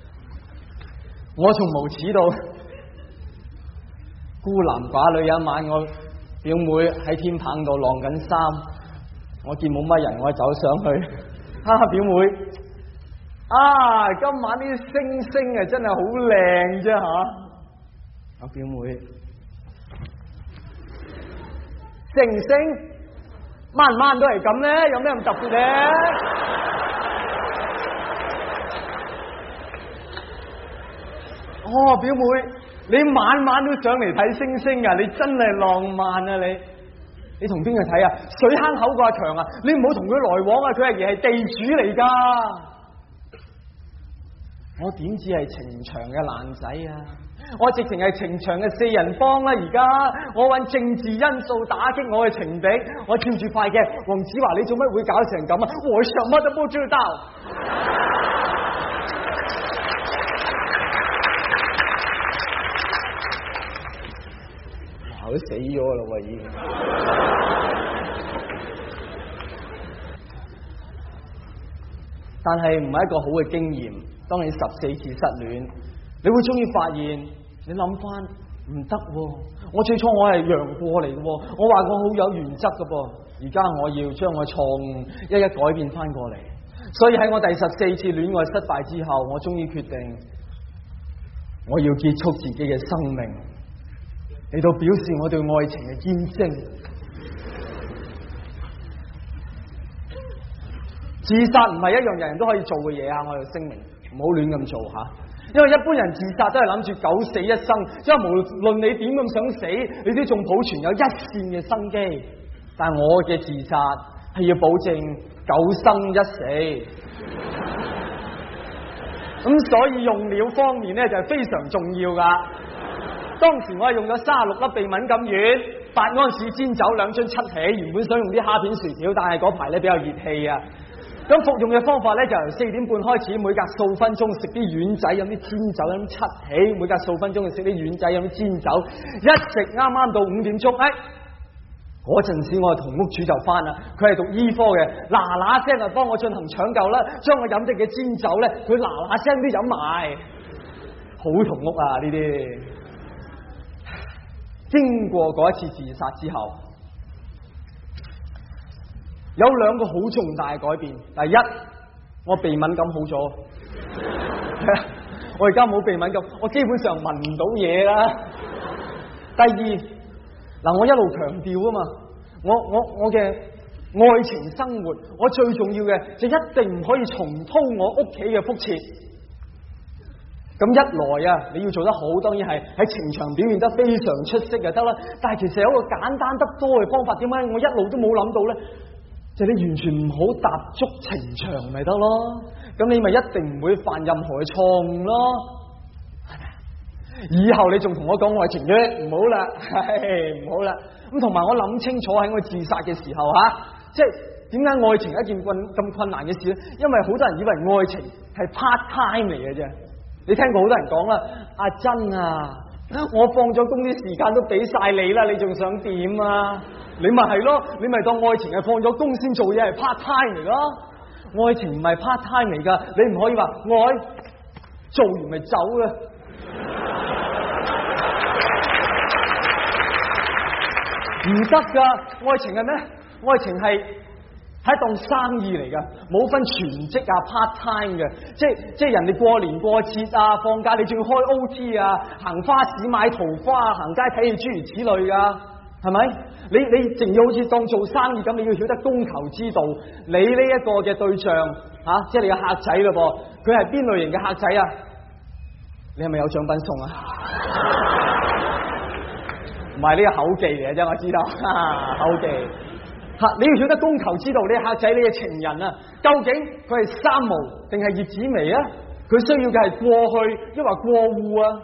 無恥到孤男寡女，有一晚我表妹喺天棚度晾緊衫，我見冇乜人，我走上去，表妹，今晚啲星星啊真係好靚啫吓！表妹，星晚都係咁咧，有咩咁特別咧？表妹，你晚都上嚟睇星星啊！你真係浪漫啊！你同邊個睇啊？水坑口個阿強啊！你唔好同佢來往啊！佢係地主嚟噶。我點止係情場嘅爛仔啊！我直情係情場嘅4人幫啦！而家我揾政治因素打擊我嘅情敵，我照住塊鏡，黃子華你做乜會搞成咁啊？我什麼都不知道。都死咗啦喎已經，但係唔係一個好嘅經驗。當你14次失戀，你會終於發現，你諗翻唔得喎。我最初我係楊過嚟嘅喎，我話我好有原則嘅噃，而家我要將我錯誤一一改變翻過嚟。所以喺我第14次戀愛失敗之後，我終於決定我要結束自己嘅生命，嚟到表示我對愛情嘅堅貞。自殺唔係一樣人人都可以做嘅嘢啊！我要聲明，唔好亂咁做吓。因為一般人自殺都係諗住九死一生，因為無論你點咁想死，你都仲保存有一線嘅生機。但係我嘅自殺係要保證9生1死。咁所以用料方面咧就係非常重要噶。當時我係用咗36粒鼻敏感丸、8安士煎酒、2樽七喜，原本想用啲蝦片薯條，但係嗰排咧比較熱氣啊。咁服用嘅方法咧就由4點半開始，每隔數分鐘食啲丸仔，飲啲煎酒，飲七喜，每隔數分鐘就食啲丸仔，飲啲煎酒，一直啱啱到5點鐘，嗰陣時我同屋主就翻啦，佢係讀醫科嘅，嗱聲就幫我進行搶救啦，將我飲的嘅煎酒咧，佢嗱聲都飲埋，好同屋啊呢啲。 經過嗰一次自殺之後，有兩個好重大嘅改變。第一，我鼻敏感好咗。我而家冇鼻敏感，我基本上聞唔到嘢啦。第二，嗱，我一路強調啊嘛，我嘅愛情生活，我最重要嘅就一定唔可以重蹈我屋企嘅覆轍。咁一來啊，你要做得好，當然係喺情場表現得非常出色就得啦。但係其實有一個簡單得多嘅方法，點解我一路都冇諗到咧？就係你完全唔好踏足情場咪得咯。咁你咪一定唔會犯任何嘅錯誤咯。以後你仲同我講愛情嘅，唔好啦，唔好啦。咁同埋我諗清楚喺我自殺嘅時候即係點解愛情係一件咁困難嘅事咧？因為好多人以為愛情係 part time 嚟嘅啫。你聽過好多人講啦，阿珍啊，我放咗工啲時間都俾晒你啦，你仲想點啊？你咪係咯，你咪當愛情係放咗工先做嘢係 part time 嚟咯。愛情唔係 part time 嚟噶，你唔可以話愛做完咪走啦。唔得噶，愛情係咩？愛情係一檔生意嚟噶，冇分全職啊 part time 嘅，即係人哋過年過節啊放假，你仲要開 OT 啊，行花市買桃花，行街睇戲諸如此類噶，係咪？你淨要好似當做生意咁，你要曉得供求之道。你呢一個嘅對象即係你嘅客仔咯噃，佢係邊類型嘅客仔啊？你係咪有獎品送啊？唔係，呢個口技嚟嘅啫，我知道口技。你要曉得供求之道，你嘅客仔，你嘅情人啊，究竟佢係三毛定係葉子楣啊？佢需要嘅係過去抑或過戶啊？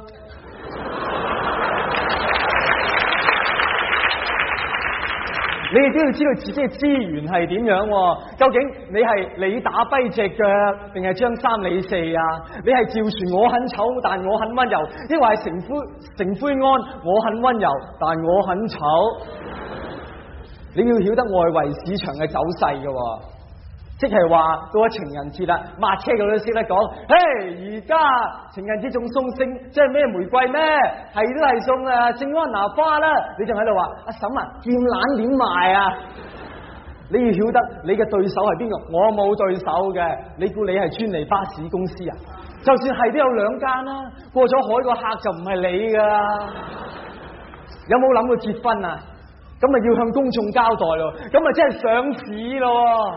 你哋都要知道自己嘅資源係點樣，究竟你係你打跛隻腳，定係張三李四啊？你係趙船我很醜，但我很溫柔，抑或係成灰安我很溫柔，但我很醜？你要曉得外圍市場嘅走勢嘅，即係話到咗情人節啦，抹車嗰都識得講，嘿，而家情人節仲送即係咩玫瑰咩？係都係送聖安娜花啦。你仲喺度話阿嬸啊，劍蘭點賣啊？你要曉得你嘅對手係邊個？我冇對手嘅，你估你係專利巴士公司啊？就算係都有兩間啦，過咗海個客就唔係你噶。有冇諗過結婚啊？咁咪要向公眾交代咯，咁咪真係上市咯。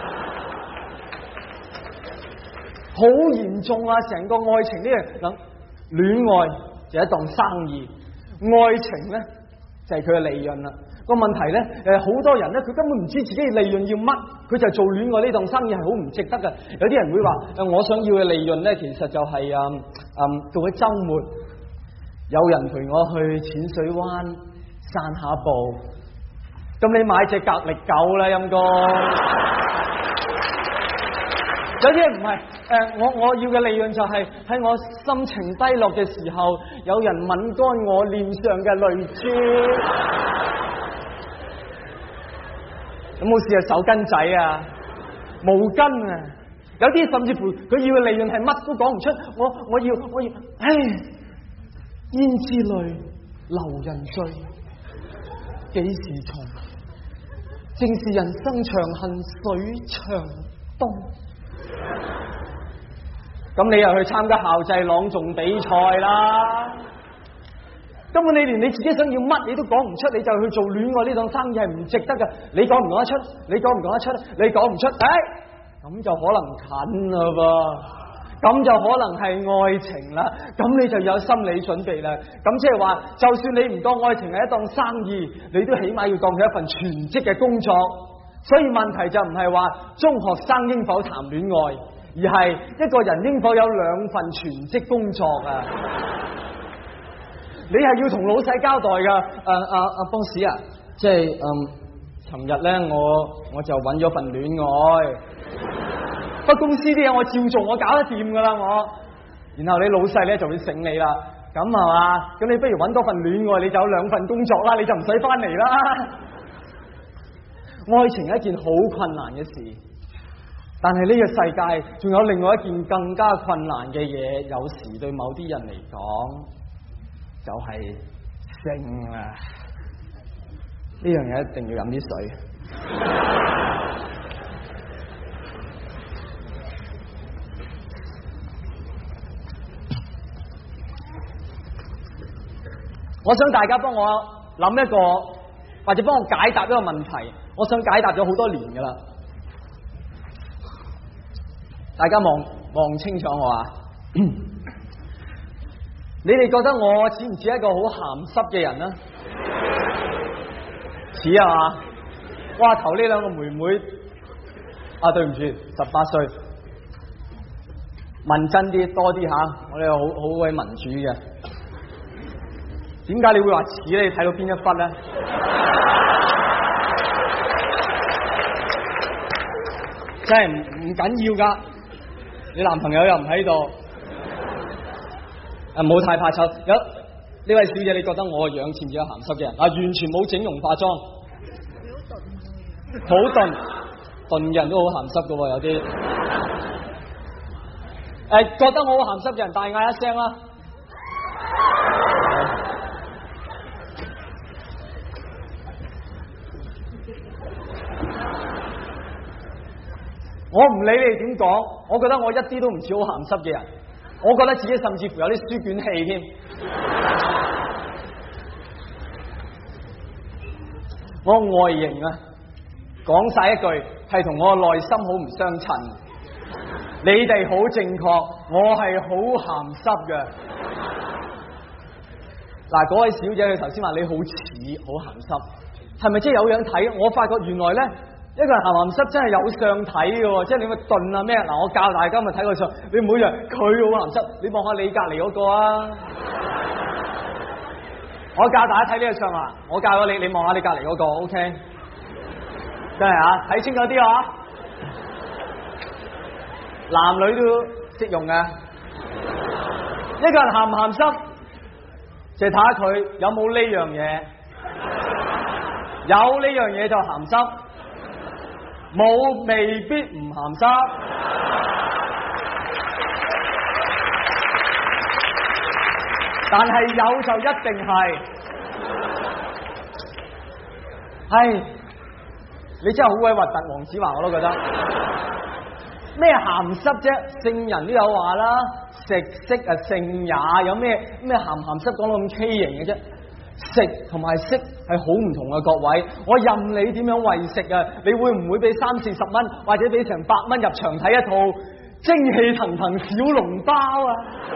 好嚴重啊！成個愛情呢樣，戀愛就係一檔生意，愛情咧就係佢嘅利潤啦。個問題咧，好多人咧佢根本唔知自己嘅利潤要乜，佢就做戀愛呢檔生意係好唔值得嘅。有啲人會話我想要嘅利潤咧，其實就係到咗週末有人陪我去淺水灣散下步，咁你買隻格力狗啦，陰公。有啲人唔係，我要嘅利潤就係喺我心情低落嘅時候，有人吻乾我臉上嘅淚珠。有冇試下手巾仔啊、毛巾啊？有啲甚至乎佢要嘅利潤係乜都講唔出。我要，唉，胭脂淚流人醉，幾時重？正是人生長恨水長東。咁你又去參加校際朗誦比賽啦？根本你連你自己想要乜你都講唔出，你就去做戀愛呢檔生意係唔值得㗎。你講唔講得出？你講唔講得出？你講唔出，咁就可能近啦噃，咁就可能係愛情啦。咁你就有心理準備啦。咁即係話，就算你唔當愛情係一檔生意，你都起碼要當佢一份全職嘅工作。所以問題就唔係話中學生應否談戀愛，而係一個人應否有兩份全職工作啊！你係要同老細交代噶，邦士啊，即係尋日咧我就揾咗份戀愛，不過公司啲嘢我照做，我搞得掂噶啦我。然後你老細咧就會醒你啦，咁係嘛？咁你不如揾多份戀愛，你就有兩份工作啦，你就唔使翻嚟啦。愛情係一件好困難嘅事，但係呢個世界仲有另外一件更加困難嘅嘢，有時對某啲人嚟講就係性啊！呢樣嘢一定要飲啲水。我想大家幫我諗一個，或者幫我解答一個問題。我想解答咗好多年噶啦，大家望清楚我啊！你哋覺得我似唔似一個好鹹濕嘅人啊？似啊嘛！哇，頭呢兩個妹妹啊，對唔住，18歲，問真啲多啲吓，我哋好鬼民主嘅。點解你會話似咧？你睇到邊一忽咧？真係唔緊要噶，你男朋友又唔喺度，唔好太怕醜。有呢位小姐，你覺得我個樣似唔似個鹹濕嘅人？啊，完全冇整容化妝，好鈍嘅人都好鹹濕噶喎，有啲。覺得我好鹹濕嘅人，大嗌一聲啦！我唔理你哋點講，我覺得我一啲都唔似好鹹濕嘅人，我覺得自己甚至乎有啲書卷氣添。我外形啊，講晒一句係同我內心好唔相襯。你哋好正確，我係好鹹濕嘅。嗱，嗰位小姐佢頭先話你好似好鹹濕，係咪真係有樣睇？我發覺原來咧。一個人鹹鹹濕真係有相睇嘅，即係你咪燉啊咩？嗱，我教大家咪睇個相，你每日佢好鹹濕，你望下你隔籬嗰個啊！我教大家睇呢個相啊，我教咗你，你望下你隔籬嗰個 ，OK？ 真係啊，睇清楚啲啊！男女都適用嘅。一個人鹹唔鹹濕，就睇下佢有冇呢樣嘢，有呢樣嘢就鹹濕。冇未必唔鹹濕，但係有就一定係。唉，你真係好鬼核突，黃子華我都覺得。咩鹹濕啫？聖人都有話啦，食色啊性也，有咩鹹鹹濕講到咁畸形嘅啫？食同埋色係好唔同嘅，各位，我任你點樣餵食啊！你會唔會俾30-40蚊，或者俾成100蚊入場睇一套精氣騰騰小籠包啊？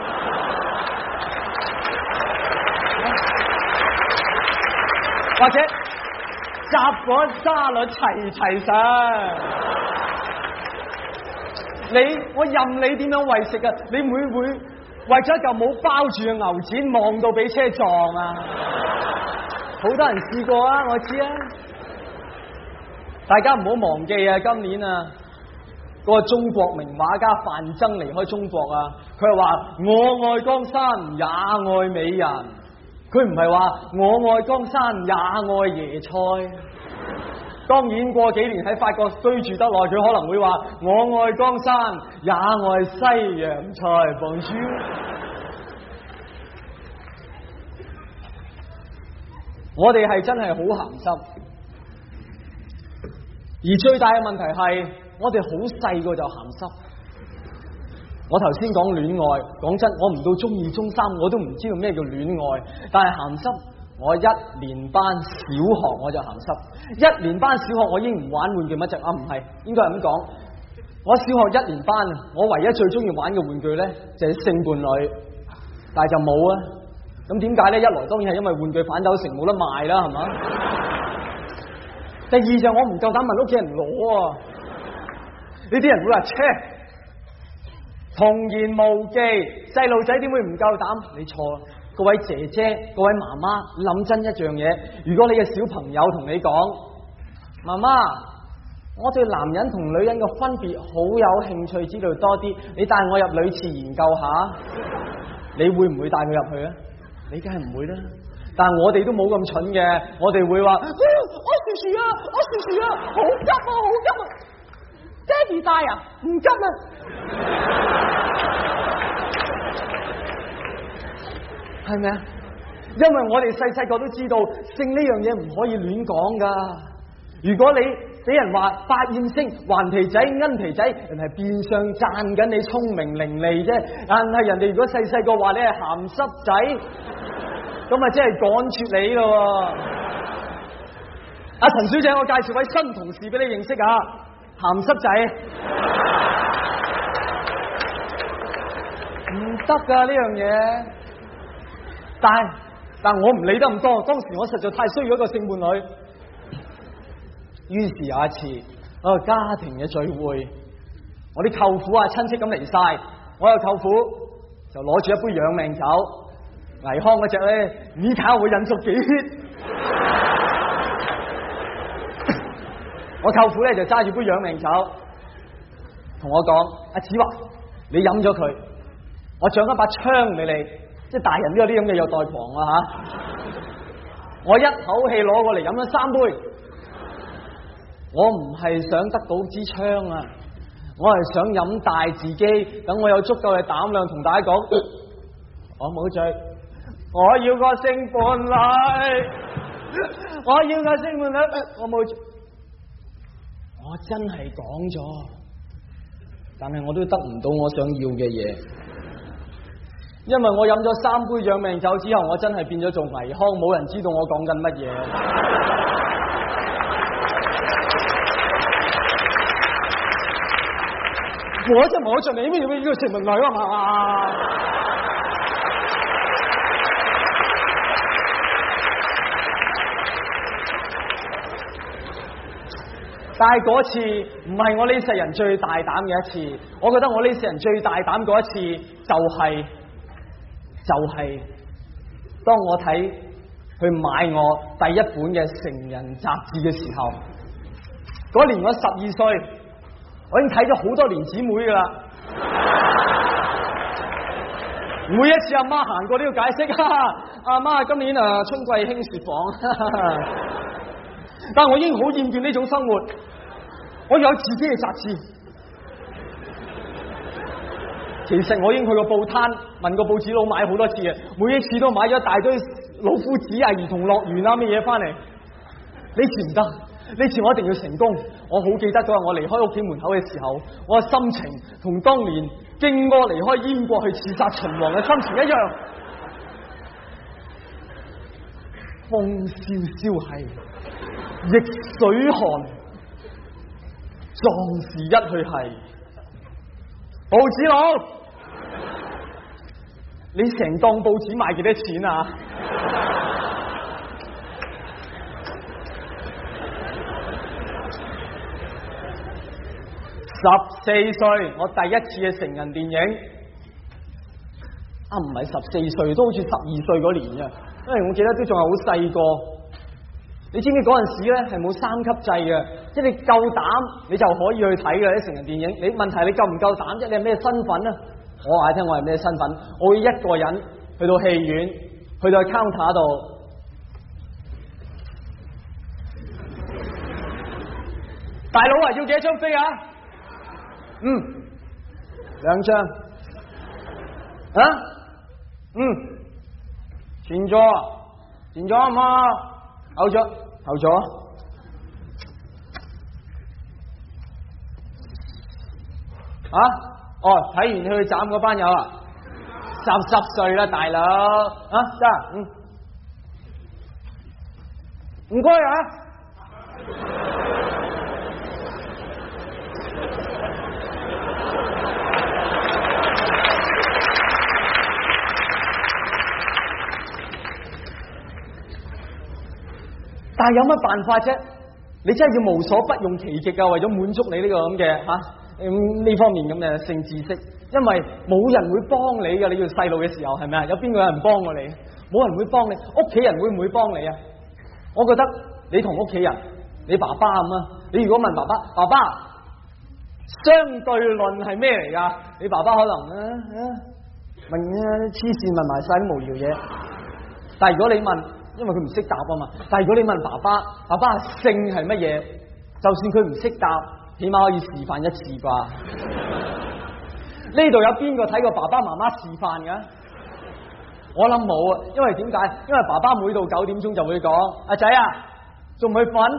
或者雜果沙律齊上？我任你點樣餵食啊！你會唔會為咗一嚿冇包住嘅牛展，望到俾車撞啊！好多人試過啊，我知啊。大家唔好忘記啊，今年啊，嗰個中國名畫家范增離開中國啊，佢係話我愛江山也愛美人，佢唔係話我愛江山也愛椰菜。當然過幾年喺法國居住得耐，佢可能會話我愛江山也愛西洋菜。Bonjour。我哋係真係好鹹濕，而最大嘅問題係我哋好細個就鹹濕。我頭先講戀愛，講真，我唔到中2、中3我都唔知道咩叫戀愛，但係鹹濕，我1年班小學我就鹹濕，1年班小學我已經唔玩玩具乜滯啊，唔係，應該係咁講。我小學1年班，我唯一最中意玩嘅玩具咧就係性伴侶，但係就冇啊。咁點解咧？一來當然係因為玩具反斗城冇得賣啦，係嘛？第二就我唔夠膽問屋企人攞啊！呢啲人會話：切，童言無忌，細路仔點會唔夠膽？你錯啦！各位姐姐、各位媽媽，諗真一樣嘢，如果你嘅小朋友同你講：媽媽，我對男人同女人嘅分別好有興趣，知道多啲，你帶我入女廁研究下，你會唔會帶佢入去啊？你梗係唔會啦，但係我哋都冇咁蠢嘅，我哋會話：我薯薯啊，好急啊，爹哋帶啊，唔急啊。係咪啊？ 因為我哋細個都知道性呢樣嘢唔可以亂講噶。如果你俾人話百厭星、頑皮仔、奀皮仔，人係變相讚緊你聰明伶俐啫。但係人哋如果細個話你係鹹濕仔，咁啊真係趕絕你咯。阿陳小姐，我介紹位新同事俾你認識下，鹹濕仔唔得噶呢樣嘢。但我唔理得咁多，當時我實在太需要一個性伴侶。於是有一次一個家庭嘅聚會，我啲舅父啊親戚咁嚟晒，我有舅父就攞住一杯養命酒，倪匡嗰隻咧，你睇下我引咗幾血。我舅父咧就揸住杯養命酒，同我講：阿子華，你飲咗佢，我獎一把槍俾你，即係大人都有啲咁嘅有待狂啊吓！我一口氣攞過嚟飲咗3杯。我唔係想得到支槍啊，我係想飲大自己，等我有足夠嘅膽量同大家講，我冇醉，我要個性伴侶，我要個性伴侶，我冇醉，我真係講咗，但係我都得唔到我想要嘅嘢，因為我飲咗3杯養命酒之後，我真係變咗做倪匡，冇人知道我講緊乜嘢。我就冇着你咩呢個性伴侶啊嘛！但係嗰次唔係我呢世人最大膽嘅一次，我覺得我呢世人最大膽嗰一次就係當我睇去買我第一本嘅成人雜誌嘅時候，嗰年我12歲。我已經睇咗好多年姊妹噶啦，每一次阿媽行過都要解釋，阿媽今年春季興雪紡，但係我已經好厭倦呢種生活，我要有自己嘅雜誌。其實我已經去過報攤，問過報紙佬買好多次嘅，每一次都買咗一大堆老夫子啊、兒童樂園啊咩嘢翻嚟，呢次唔得。呢次我一定要成功！我好記得嗰日我離開屋企門口嘅時候，我嘅心情同當年荊軻離開燕國去刺殺秦王嘅心情一樣。風蕭蕭係，逆水寒，壯士一去係。報紙佬，你成檔報紙賣幾多錢啊？14歲，我第一次嘅成人電影，唔係14歲，都好似12歲嗰年啊，因為我記得都仲係好細個。你知唔知嗰陣時咧係冇3級制嘅，即係你夠膽你就可以去睇嘅啲成人電影。你問題你夠唔夠膽啫？你係咩身份啊？我話你聽，我係咩身份？我會一個人去到戲院，去到 counter 度。大佬啊，要幾多張飛啊？2張。前座啊嘛，後座。睇完你去斬嗰班友啊，10歲啦，大佬得，唔該啊。但係有乜辦法啫？你真係要無所不用其極啊！為咗滿足你呢個咁嘅呢方面咁嘅性知識，因為冇人會幫你噶。你要細路嘅時候係咪啊？有邊個有人幫過你？冇人會幫你。屋企人會唔會幫你啊？我覺得你同屋企人，你爸爸咁啊。你如果問爸爸，相對論係咩嚟噶？你爸爸可能問黐線問埋晒啲無聊嘢。但係如果你問，因為佢唔識答啊嘛。但係如果你問爸爸性係乜嘢，就算佢唔識答，起碼可以示範一次啩。呢度有邊個睇過爸爸媽媽示範噶？ 我諗冇啊，因為點解？因為爸爸每到9點鐘就會講：阿仔啊，仲唔去瞓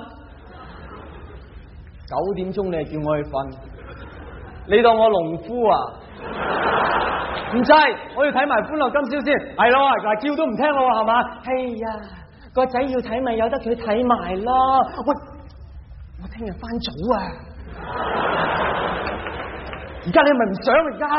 ？9點鐘你係叫我去瞓，你當我農夫啊？唔制，我要睇埋歡樂今宵先。係咯，嗱叫都唔聽我係嘛？係呀，個仔要睇咪由得佢睇埋咯。喂，我聽日翻早啊！而家你係咪唔想而家？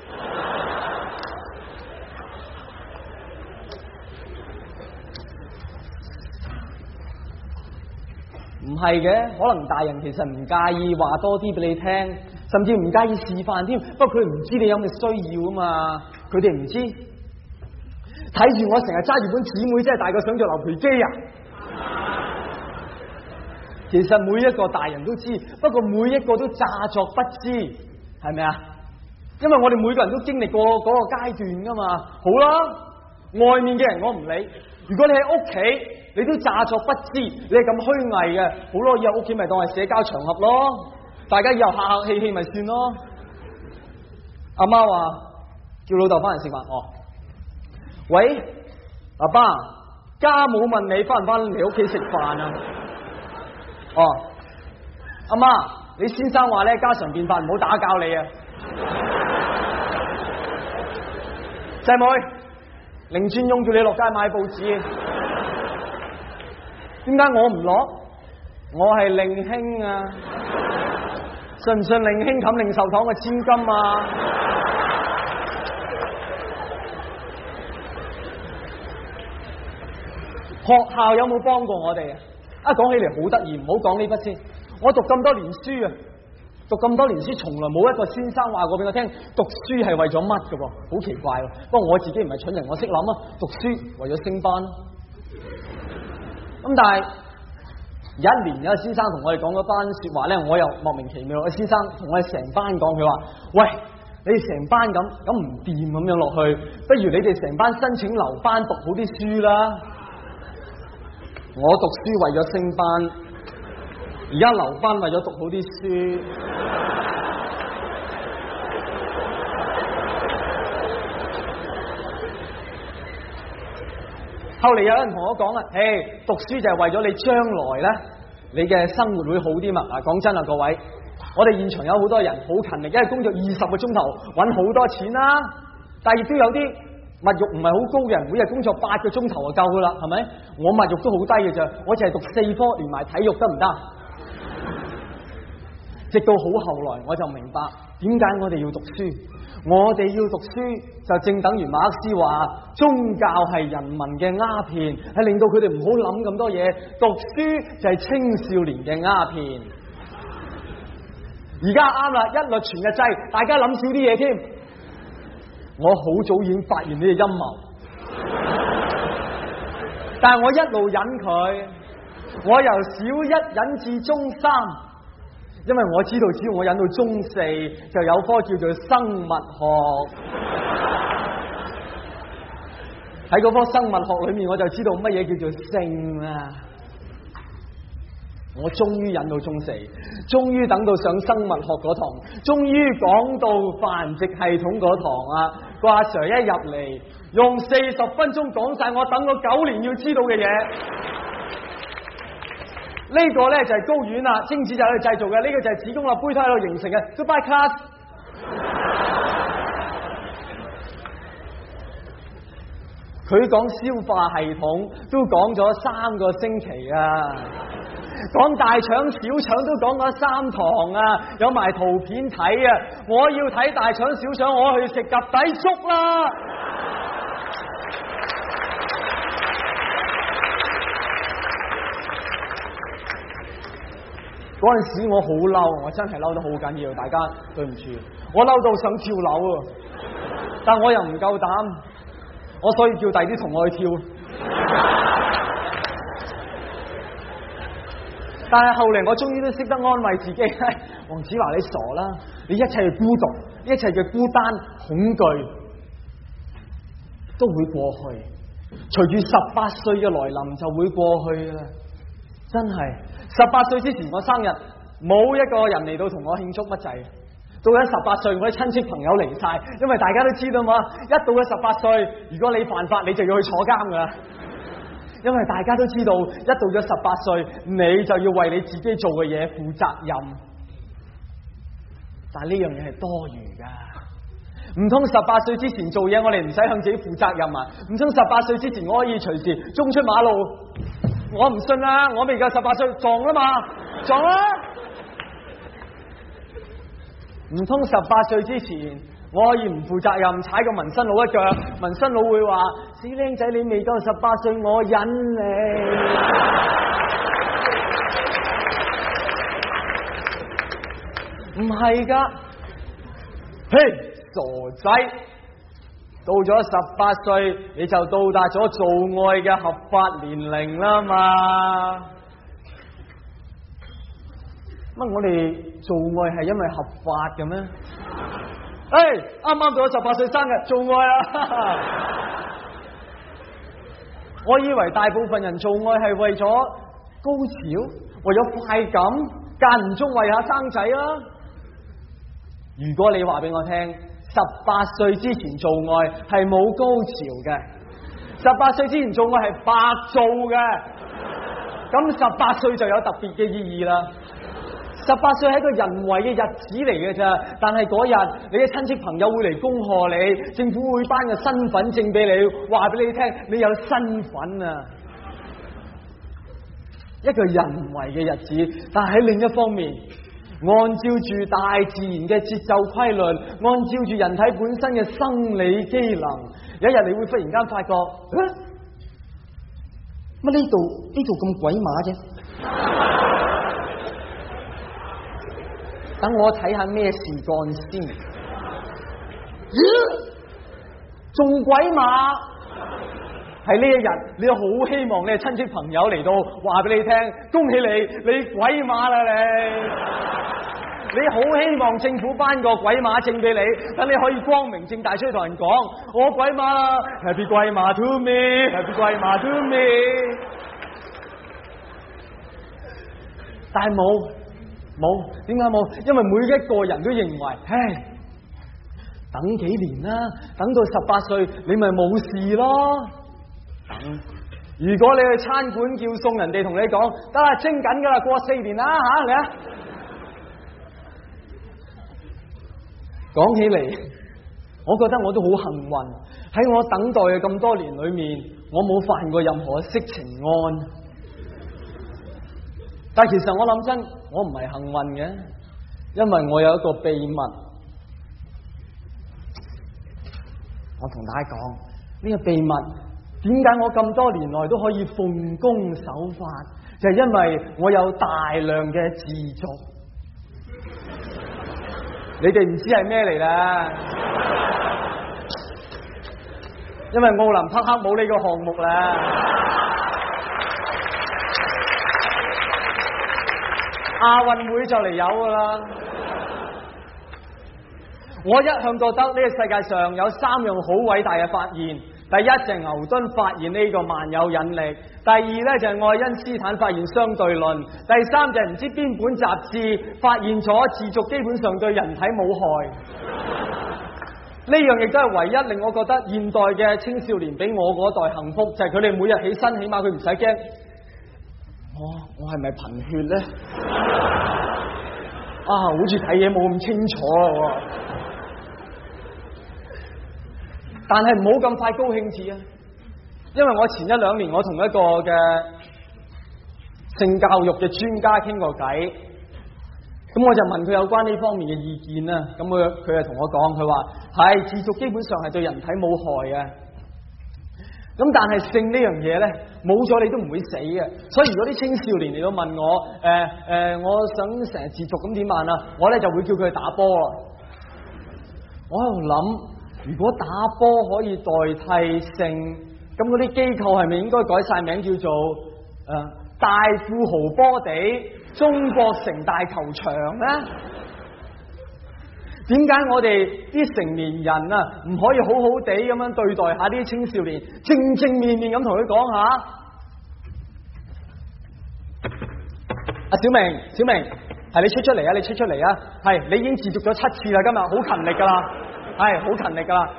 唔係嘅，可能大人其實唔介意話多啲俾你聽，甚至唔介意示範添。不過佢唔知你有咩需要啊嘛，佢哋唔知。睇住我成日揸住本姊妹真係大過想做牛皮機啊！其實每一個大人都知，不過每一個都詐作不知，係咪啊？因為我哋每個人都經歷過嗰個階段噶嘛。好啦，外面嘅人我唔理，如果你喺屋企，你都詐作不知，你係咁虛偽嘅，好咯，以後屋企咪當係社交場合咯，大家以後客客氣氣咪算咯。阿媽話叫老豆翻嚟食飯，哦，喂，阿爸，家母問你翻唔翻嚟屋企食飯啊？哦，阿媽，你先生話咧家常便飯，唔好打攪你啊。細妹，凌專用叫你落街買報紙。點解我唔落？我係令兄啊！信唔信令兄冚令壽堂嘅千金啊？學校有冇幫過我哋啊？講起嚟好得意，唔好講呢筆先。我讀咁多年書啊，讀咁多年書，從來冇一個先生話過俾我聽，讀書係為咗乜㗎噃？好奇怪喎！不過我自己唔係蠢人，我識諗啊，讀書為咗升班。咁但係有一年有個先生同我哋講嗰班說話咧，我又莫名其妙。個先生同我哋成班講，佢話：喂，你哋成班咁唔掂咁樣落去，不如你哋成班申請留班讀好啲書啦。我讀書為咗升班，而家留班為咗讀好啲書。後嚟有人同我講啊，讀書就係為咗你將來咧，你嘅生活會好啲嘛。嗱，講真啊，各位，我哋現場有好多人好勤力，一日工作20個鐘頭，搵好多錢啦。但係亦都有啲物欲唔係好高嘅人，每日工作8個鐘頭就夠噶啦，係咪？我物欲都好低嘅啫，我淨係讀4科，連埋體育得唔得？直到好後來，我就明白點解我哋要讀書。我哋要讀書，就正等於馬克思話，宗教係人民嘅鴉片，係令到佢哋唔好諗咁多嘢。讀書就係青少年嘅鴉片。而家啱啦，一律全日制，大家諗少啲嘢添。我好早已經發現呢個陰謀，但係我一路忍佢，我由小1忍至中3。因為我知道，只要我忍到中4，就有科叫做生物學。喺嗰科生物學裏面，我就知道乜嘢叫做性啦。我終於忍到中4，終於等到上生物學嗰堂，終於講到繁殖系統嗰堂啊！個阿 Sir 一入嚟，用40分鐘講晒我等咗9年要知道嘅嘢。呢個咧就係睾丸啦，精子就喺度製造嘅，呢個就係子宮啦，胚胎喺度形成嘅。Goodbye class。佢講消化系統都講咗3個星期啊，講大腸小腸都講咗3堂啊，有埋圖片睇啊！我要睇大腸小腸，我去食及第粥啦！嗰陣時我好嬲，我真係嬲得好緊要，大家對唔住，我嬲到想跳樓啊！但我又唔夠膽，我所以叫弟弟同我去跳。但係後嚟我終於都識得安慰自己，黃子華你傻啦，你一切嘅孤獨，一切嘅孤單、恐懼都會過去，隨住18歲嘅來臨就會過去啦，真係。18歲之前我生日，冇一個人嚟到同我慶祝乜滯， 到咗18歲，我啲親戚朋友嚟晒，因為大家都知道嘛，一到咗18歲，如果你犯法，你就要去坐監噶啦。因為大家都知道，一到咗18歲，你就要為你自己做嘅嘢負責任。但係呢樣嘢係多餘噶，唔通18歲之前做嘢，我哋唔使向自己負責任啊？唔通18歲之前我可以隨時衝出馬路？我唔信啦，我未夠18歲撞啦嘛，撞啦！唔通18歲之前我可以唔負責任踩個紋身佬一腳？紋身佬會話：死僆仔，你未夠18歲，我忍你。唔係噶，嘿，傻仔，到咗18歲你就到達咗做愛嘅合法年齡啦嘛。乜我哋做愛係因為合法嘅咩？啱啱到咗18歲生日做愛啊！我以為大部分人做愛係為咗高潮，為咗快感，間唔中為下生仔啊！如果你話俾我聽，18歲之前做愛係冇高潮嘅，18歲之前做愛係白做嘅，咁18歲就有特別嘅意義啦。18歲係一個人為嘅日子嚟嘅咋，但係嗰日你嘅親戚朋友會嚟恭賀你，政府會頒個身份證俾你，話俾你聽你有身份啊！一個人為嘅日子，但係喺另一方面，按照住大自然嘅節奏規律，按照住人體本身嘅生理機能，有一日你會忽然間發覺，乜呢度咁鬼馬啫？等我睇下咩事幹先。仲鬼馬？係呢一日，你好希望你嘅親戚朋友嚟到話俾你聽，恭喜你鬼馬啦你好希望政府頒個鬼馬證俾你，等你可以光明正大出去同人講，我鬼馬啦 ，Happy 鬼馬 to me，Happy 鬼馬 to me。但係冇，點解冇？因為每一個人都認為，等幾年啦，等到18歲你咪冇事咯。如果你去餐館叫餸，人哋同你講得啦，蒸緊噶啦，過4年啦吓，嚟啊！講起嚟，我覺得我都好幸運，喺我等待嘅咁多年裏面，我冇犯過任何色情案。但其實我諗真，我唔係幸運嘅，因為我有一個秘密。我同大家講呢個秘密，點解我咁多年來都可以奉公守法，就係因為我有大量嘅自瀆。你哋唔知係咩嚟啦，因為奧林匹克冇呢個項目啦。亞運會就嚟有噶啦。我一向覺得呢個世界上有3樣好偉大嘅發現，第一就係牛頓發現呢個萬有引力，第二呢就係愛因斯坦發現相對論，第三就係唔知邊本雜誌發現咗自瀆基本上對人體冇害。呢樣亦都係唯一令我覺得現代嘅青少年比我嗰代幸福，就係佢哋每日起身，起碼佢唔使驚我係咪貧血呢？好似睇嘢冇咁清楚啊！但係唔好咁快高興住啊！因為我前1、2年我同一個嘅性教育嘅專家傾過偈，咁我就問佢有關呢方面嘅意見啦。咁佢就同我講，佢話係自瀆基本上係對人體冇害嘅。咁但係性呢樣嘢咧，冇咗你都唔會死嘅。所以如果啲青少年嚟到問我，我想成日自瀆咁點辦啊？我咧就會叫佢去打波啊！我喺度諗，如果打波可以代替性，咁嗰啲機構係咪應該改晒名叫做大富豪波地中國城大球場咧？點解我哋啲成年人啊唔可以好好地咁樣對待下啲青少年，正正面面咁同佢講下？小明， 係你出嚟啊！你出嚟啊！係你已經自瀆咗7次啦，今日好勤力噶啦，係好勤力噶啦，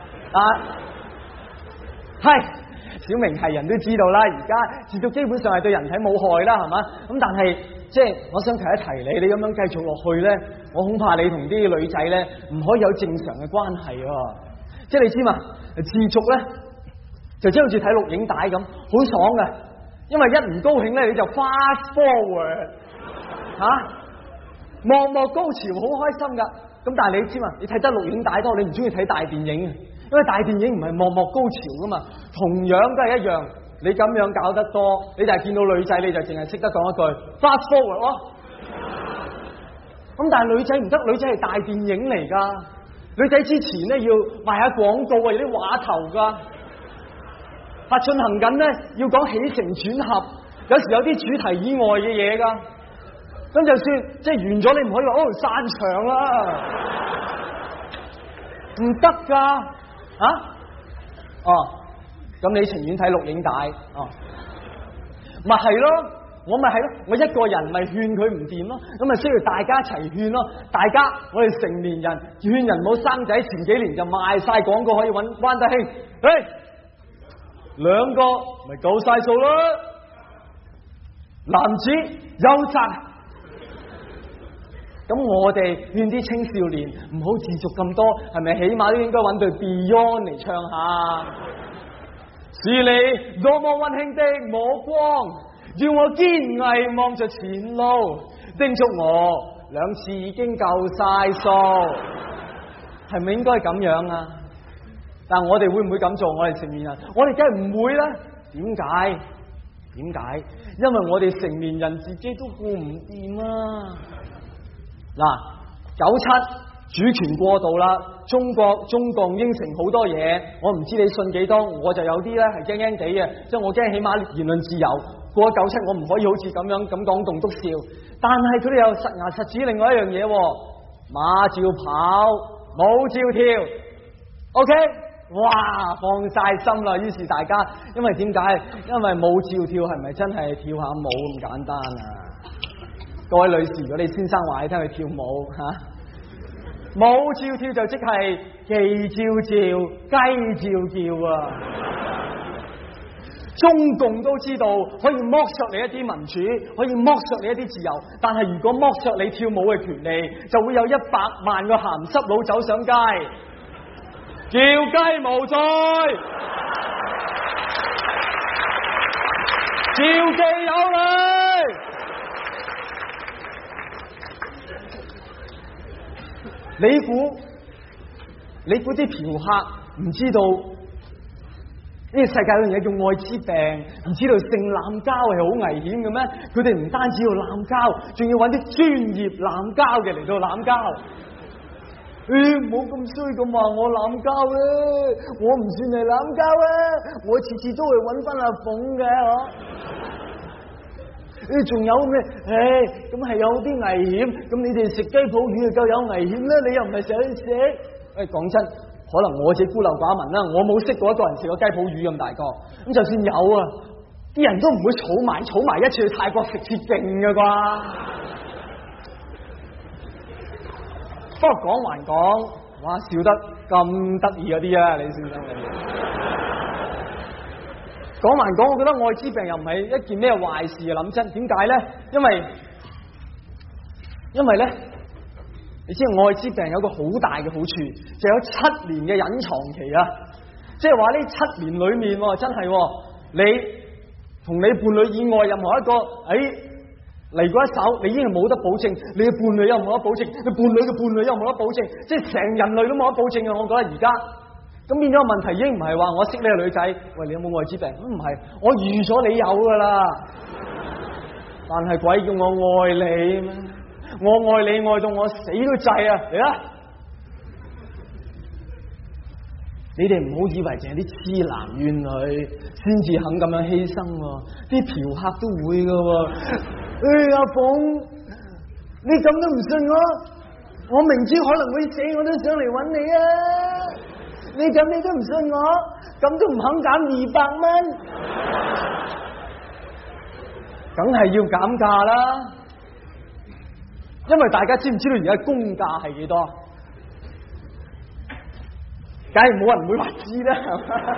係小明係人都知道啦，而家自瀆基本上係對人體冇害啦，係嘛？咁但係即係我想提一提你咁樣繼續落去咧，我恐怕你同啲女仔咧唔可以有正常嘅關係喎。即係你知嘛？自瀆咧就即係好似睇錄影帶咁，好爽嘅，因為一唔高興咧你就 fast forward 幕幕高潮，好開心噶。咁但係你知嘛？你睇得錄影帶多，你唔中意睇大電影，因為大電影唔係幕幕高潮噶嘛。同樣都係一樣，你咁樣搞得多，你就係見到女仔，你就淨係識得講一句 fast forward 咯。咁但係女仔唔得，女仔係大電影嚟噶。女仔之前咧要賣下廣告啊，有啲話頭噶，進行緊咧要講起承轉合，有時有啲主題以外嘅嘢噶。咁就算即係完咗，你唔可以話散場啦，唔得噶咁你情願睇錄影帶咪係咯，我咪係咯，我一個人咪勸佢唔掂咯，咁咪需要大家一齊勸咯。大家我哋成年人勸人冇生仔，前幾年就賣晒廣告可以揾關德興，兩個咪夠晒數啦。男子優質。咁我哋勸啲青少年唔好自瀆咁多，係咪起碼都應該揾對 Beyond 嚟唱下？是你多麼溫馨的目光，要我堅毅望着前路，叮囑我2次已經夠晒數，係咪應該咁樣啊？但我哋會唔會咁做？我哋成年人，我哋梗係唔會啦。點解？因為我哋成年人自己都顧唔掂啊！嗱，97主權過度啦，中共應承好多嘢，我唔知你信幾多，我就有啲咧係驚驚地嘅，即係我驚起碼言論自由過咗97，我唔可以好似咁樣咁講棟篤笑，但係佢哋又實牙實齒另外一樣嘢，馬照跑，舞照跳 ，OK， 哇，放晒心啦，於是大家因為點解？因為舞照跳係咪真係跳下舞咁簡單啊？各位女士，如果你先生話你聽佢跳舞舞照跳就即係雞照叫，雞照叫啊！中共都知道可以剝削你一啲民主，可以剝削你一啲自由，但係如果剝削你跳舞嘅權利，就會有100萬個鹹濕佬走上街，叫雞無罪，召妓有理。你估啲嫖客唔知道呢個世界有樣嘢叫愛滋病，唔知道性濫交係好危險嘅咩？佢哋唔單止要濫交，仲要揾啲專業濫交嘅嚟到濫交。唔好咁衰咁話我濫交啊！我唔算係濫交啊！我次次都會揾翻阿鳳嘅仲有咩？咁係有啲危險。咁你哋食雞泡魚就夠有危險啦！你又唔係成日去食。講真，可能我自己孤陋寡聞啦，我冇識過一個人食過雞泡魚咁大個。咁就算有啊，啲人都唔會儲埋一次去泰國食切勁㗎啩。不過講還講，哇，笑得咁得意嗰啲啊，李先生你。講還講，我覺得愛滋病又唔係一件咩壞事啊！諗真，點解咧？因為咧，你知道愛滋病有個好大嘅好處，就有7年嘅隱藏期啊！即係話呢7年裏面，真係你同你伴侶以外任何一個嚟過一手，你已經係冇得保證，你嘅伴侶又冇得保證，你伴侶嘅伴侶又冇得保證，即係成人類都冇得保證啊！我覺得而家。咁變咗個問題已經唔係話我識呢個女仔，喂，你有冇愛滋病？唔係，我預咗你有噶啦。但係鬼叫我愛你咩？我愛你愛到我死都制啊！嚟啦！你哋唔好以為淨係啲痴男怨女先至肯咁樣犧牲，啲嫖客都會噶。阿鳳，你咁都唔信我明知可能會死，我都上嚟揾你啊！你咁你都唔信我，咁都唔肯減200蚊，梗係要減價啦！ 因為大家知唔知道而家工價係幾多？梗係冇人會話知啦，係嘛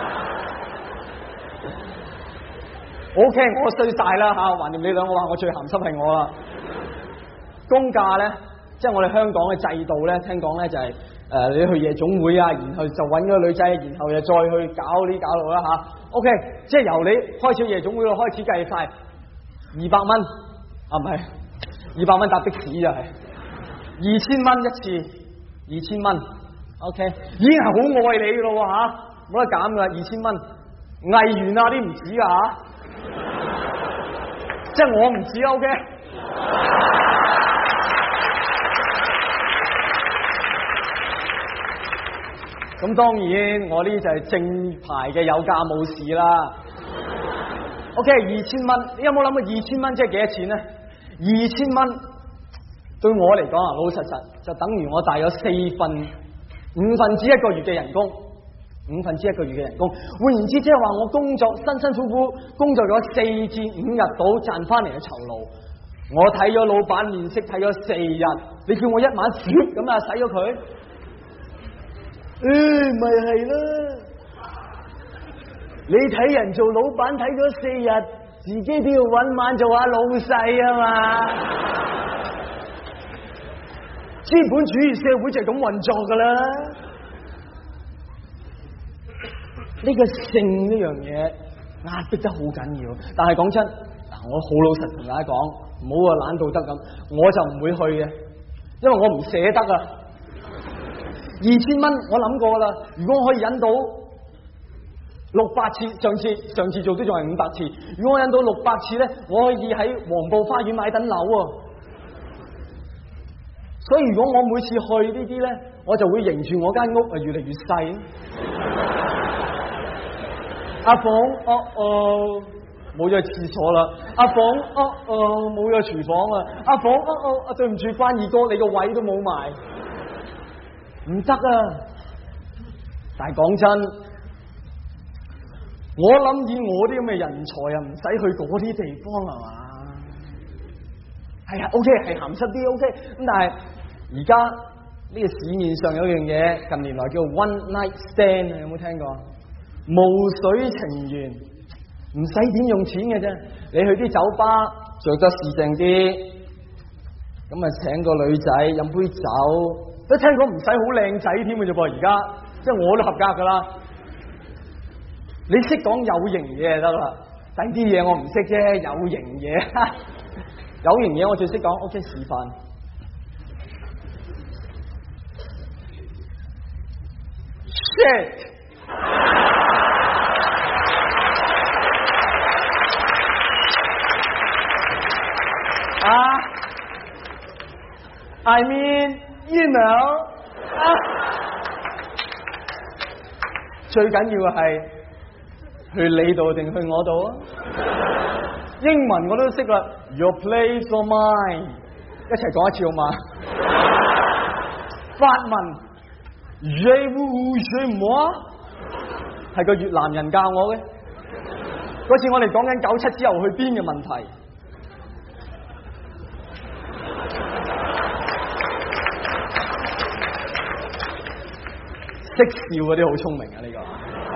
？OK，我衰晒啦吓，橫掂你兩個話我最鹹濕係我啦。工價咧，即係我哋香港嘅制度咧，聽講咧就係你去夜總會啊，然後就揾個女仔，然後又再去搞呢搞路啦吓。OK，即係由你開始夜總會度開始計晒200蚊，啊唔係200蚊搭的士就係2000蚊一次，2000蚊。OK， 已經係好愛你噶咯吓，冇得減噶，2000蚊。藝員啊啲唔止噶吓，即係我唔止 OK。咁當然我呢就係正牌嘅有價冇市啦。OK， 2000蚊，你有冇諗過2000蚊即係幾多錢咧？2000蚊對我嚟講啊，老老實實就等於我大約5分之一個月嘅人工，5分之一個月嘅人工。換言之，即係話我工作辛辛苦苦工作咗4至5日到賺翻嚟嘅酬勞，我睇咗老闆面色睇咗4日，你叫我一晚咁啊使咗佢？咪係啦！你睇人做老闆睇咗4日，自己都要搵晚做下老細啊嘛！資本主義社會就係咁運作噶啦。呢個性呢樣嘢壓迫得好緊要，但係講真，我好老實同大家講，唔好話懶到得咁，我就唔會去嘅，因為我唔捨得啊。2000蚊我諗過啦，如果我可以忍到600次，上次做都仲係500次，如果我忍到600次咧，我可以喺黃埔花園買等樓啊。所以如果我每次去呢啲咧，我就會迎住我間屋啊越嚟越細。阿鳳，冇咗廁所啦。阿鳳，冇咗廚房啊。阿鳳，對唔住，關二哥，你個位都冇埋，唔得啊！但係講真，我諗以我啲咁嘅人才啊，唔使去嗰啲地方係嘛？係啊 ，OK， 係鹹濕啲 OK， 咁但係而家呢個市面上有樣嘢，近年來叫 one night stand， 有冇聽過？無水情緣，唔使點用錢嘅啫。你去啲酒吧着得時正啲，咁啊請個女仔飲杯酒，都聽講唔使好靚仔添嘅啫噃。而家即係我都合格噶啦。你識講有型嘢就得啦，第啲嘢我唔識啫。有型嘢，有型嘢我最識講。OK， 示範。Shit！I mean, you know， 最緊要係去你度定去我度啊？英文我都識啦 ，Your place or mine， 一齊講一次好嘛？法文 Je vous chez moi， 係個越南人教我嘅。嗰次我哋講緊97之後去邊嘅問題。識笑嗰啲好聰明啊！呢個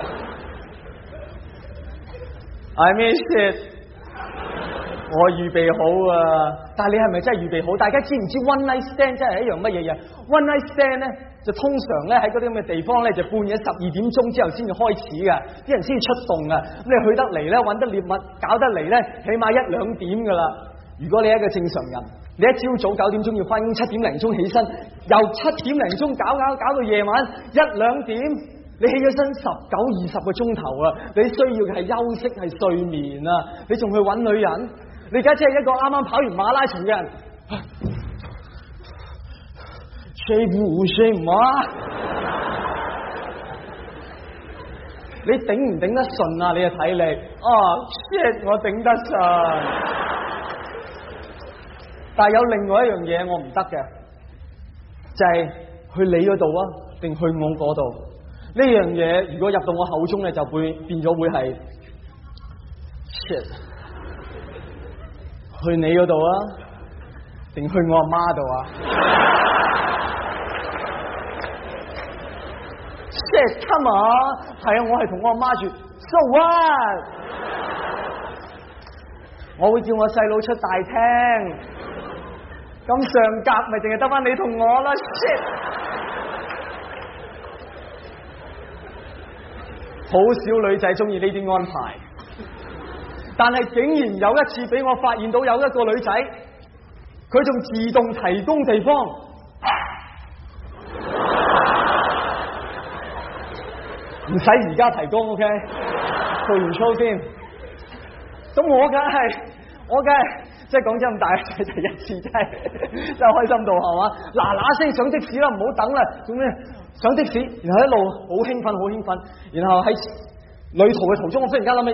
I mean shit， 我預備好啊！但係你係咪真係預備好？大家知唔知 one night stand 真係一樣乜嘢嘢 ？one night stand 咧就通常咧喺嗰啲咁嘅地方咧就半夜12點鐘之後先至開始㗎，啲人先至出動㗎。咁你去得嚟咧，揾得獵物，搞得嚟咧，起碼1、2點㗎啦。如果你係一個正常人，你一朝早9點鐘要返工，7點零鐘起身，由7點零鐘搞到夜晚1、2點，你起咗身19、20個鐘頭啊！你需要嘅係休息，係睡眠啊！你仲去揾女人？你而家只係一個啱啱跑完馬拉松嘅人，睡唔睡唔啊？你頂唔頂得順啊？你嘅體力shit， 我頂得順。但係有另外一樣嘢我唔得嘅，就係去你嗰度啊，定去我嗰度？呢樣嘢如果入到我口中咧，就會變咗會係 shit。去你嗰度啊， 定去我阿媽度啊？Shit, come on！ 係啊，我係同我阿媽住。So what？ 我會叫我細佬出大廳，咁上格咪淨係得返你同我啦。Shit！ 好少女仔中意呢啲安排，但係竟然有一次俾我發現到有一個女仔，佢仲自動提供地方，唔使而家提供 ，OK？ 做完 show 先。咁我梗係，即係講真咁大嘅第一次，真係開心到係嘛？嗱聲上的士啦，唔好等啦，做咩？上的士，然後一路好興奮，然後喺旅途嘅途中，我忽然間諗起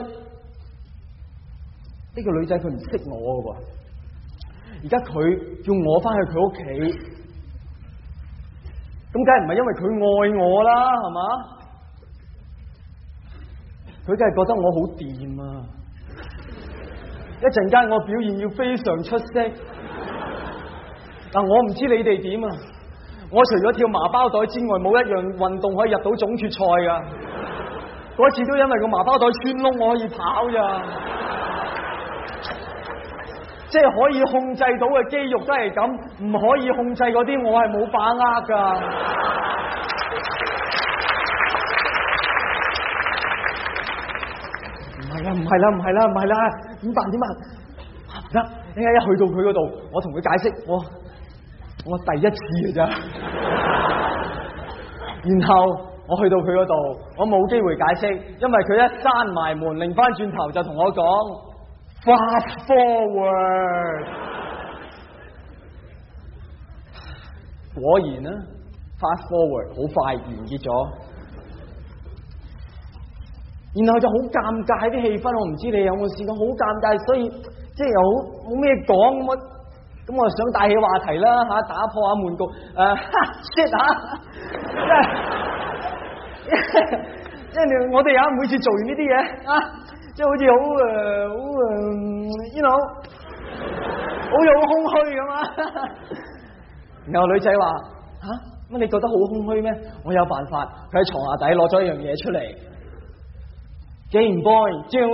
呢個女仔佢唔識我嘅喎，而家佢叫我翻去佢屋企，咁梗係唔係因為佢愛我啦，係嘛？佢梗係覺得我好掂啊！一陣間我表現要非常出色，但我唔知你哋點啊！我除咗跳麻包袋之外，冇一樣運動可以入到總決賽噶。嗰次都因為個麻包袋穿窿，我可以跑咋。即係可以控制到嘅肌肉都係咁，唔可以控制嗰啲，我係冇把握噶。唔係啦，點辦？得，一去到佢嗰度，我同佢解釋，我第一次嘅咋。然後我去到佢嗰度，我冇機會解釋，因為佢一閂埋門，擰翻轉頭就同我講 Fast forward。果然啦 ，Fast forward 好快完結咗。然後就好尷尬啲氣氛，我唔知你有冇試過，好尷尬，所以即係又冇咩講咁我想帶起話題啦嚇，打破下悶局shit 嚇，即係我哋每次做完呢啲嘢即係好似you know 好似好空虛咁啊。然後女仔話乜你覺得好空虛咩？我有辦法，佢喺床下底攞咗一樣嘢出嚟。Game Boy，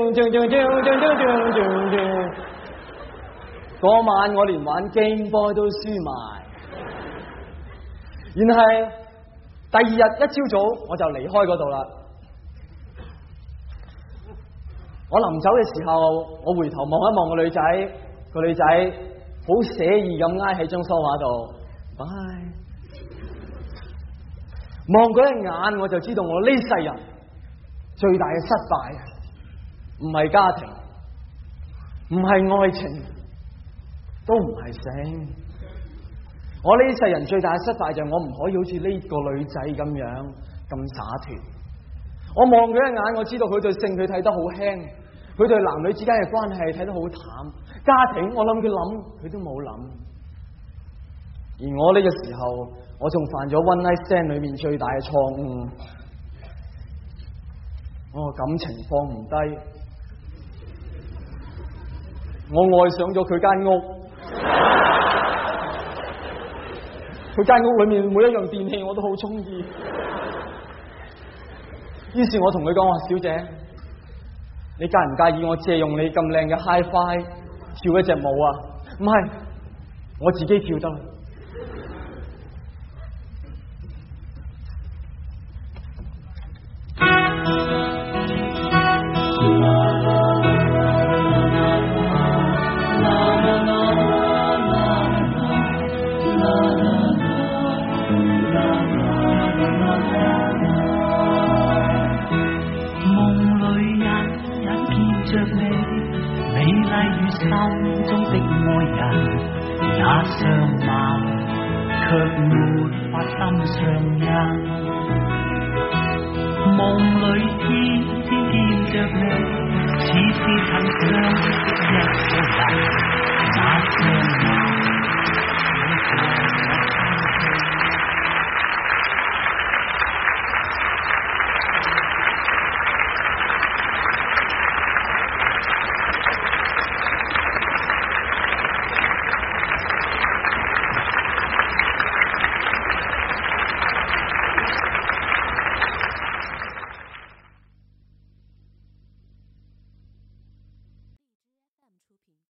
嗰晚我連玩 Game Boy 都輸埋，然係第二日一朝早我就離開嗰度啦。我臨走嘅時候，我回頭望一望個女仔，個女仔好寫意咁挨喺張梳化度，拜。望嗰一眼我就知道我呢世人最大嘅失敗，唔係家庭，唔係愛情，都唔係性。我呢世人最大嘅失敗就係我唔可以好似呢個女仔咁樣咁灑脫。我望佢一眼，我知道佢對性佢睇得好輕，佢對男女之間嘅關係睇得好淡。家庭我諗佢都冇諗。而我呢個時候，我仲犯咗 One Night Stand 裏面最大嘅錯誤。我感情放唔低，我愛上咗佢間屋，佢間屋裏面每一樣電器我都好中意。於是我同佢講話：小姐，你介唔介意我借用你咁靚嘅 Hi-Fi 跳一隻舞啊？唔係，我自己跳得。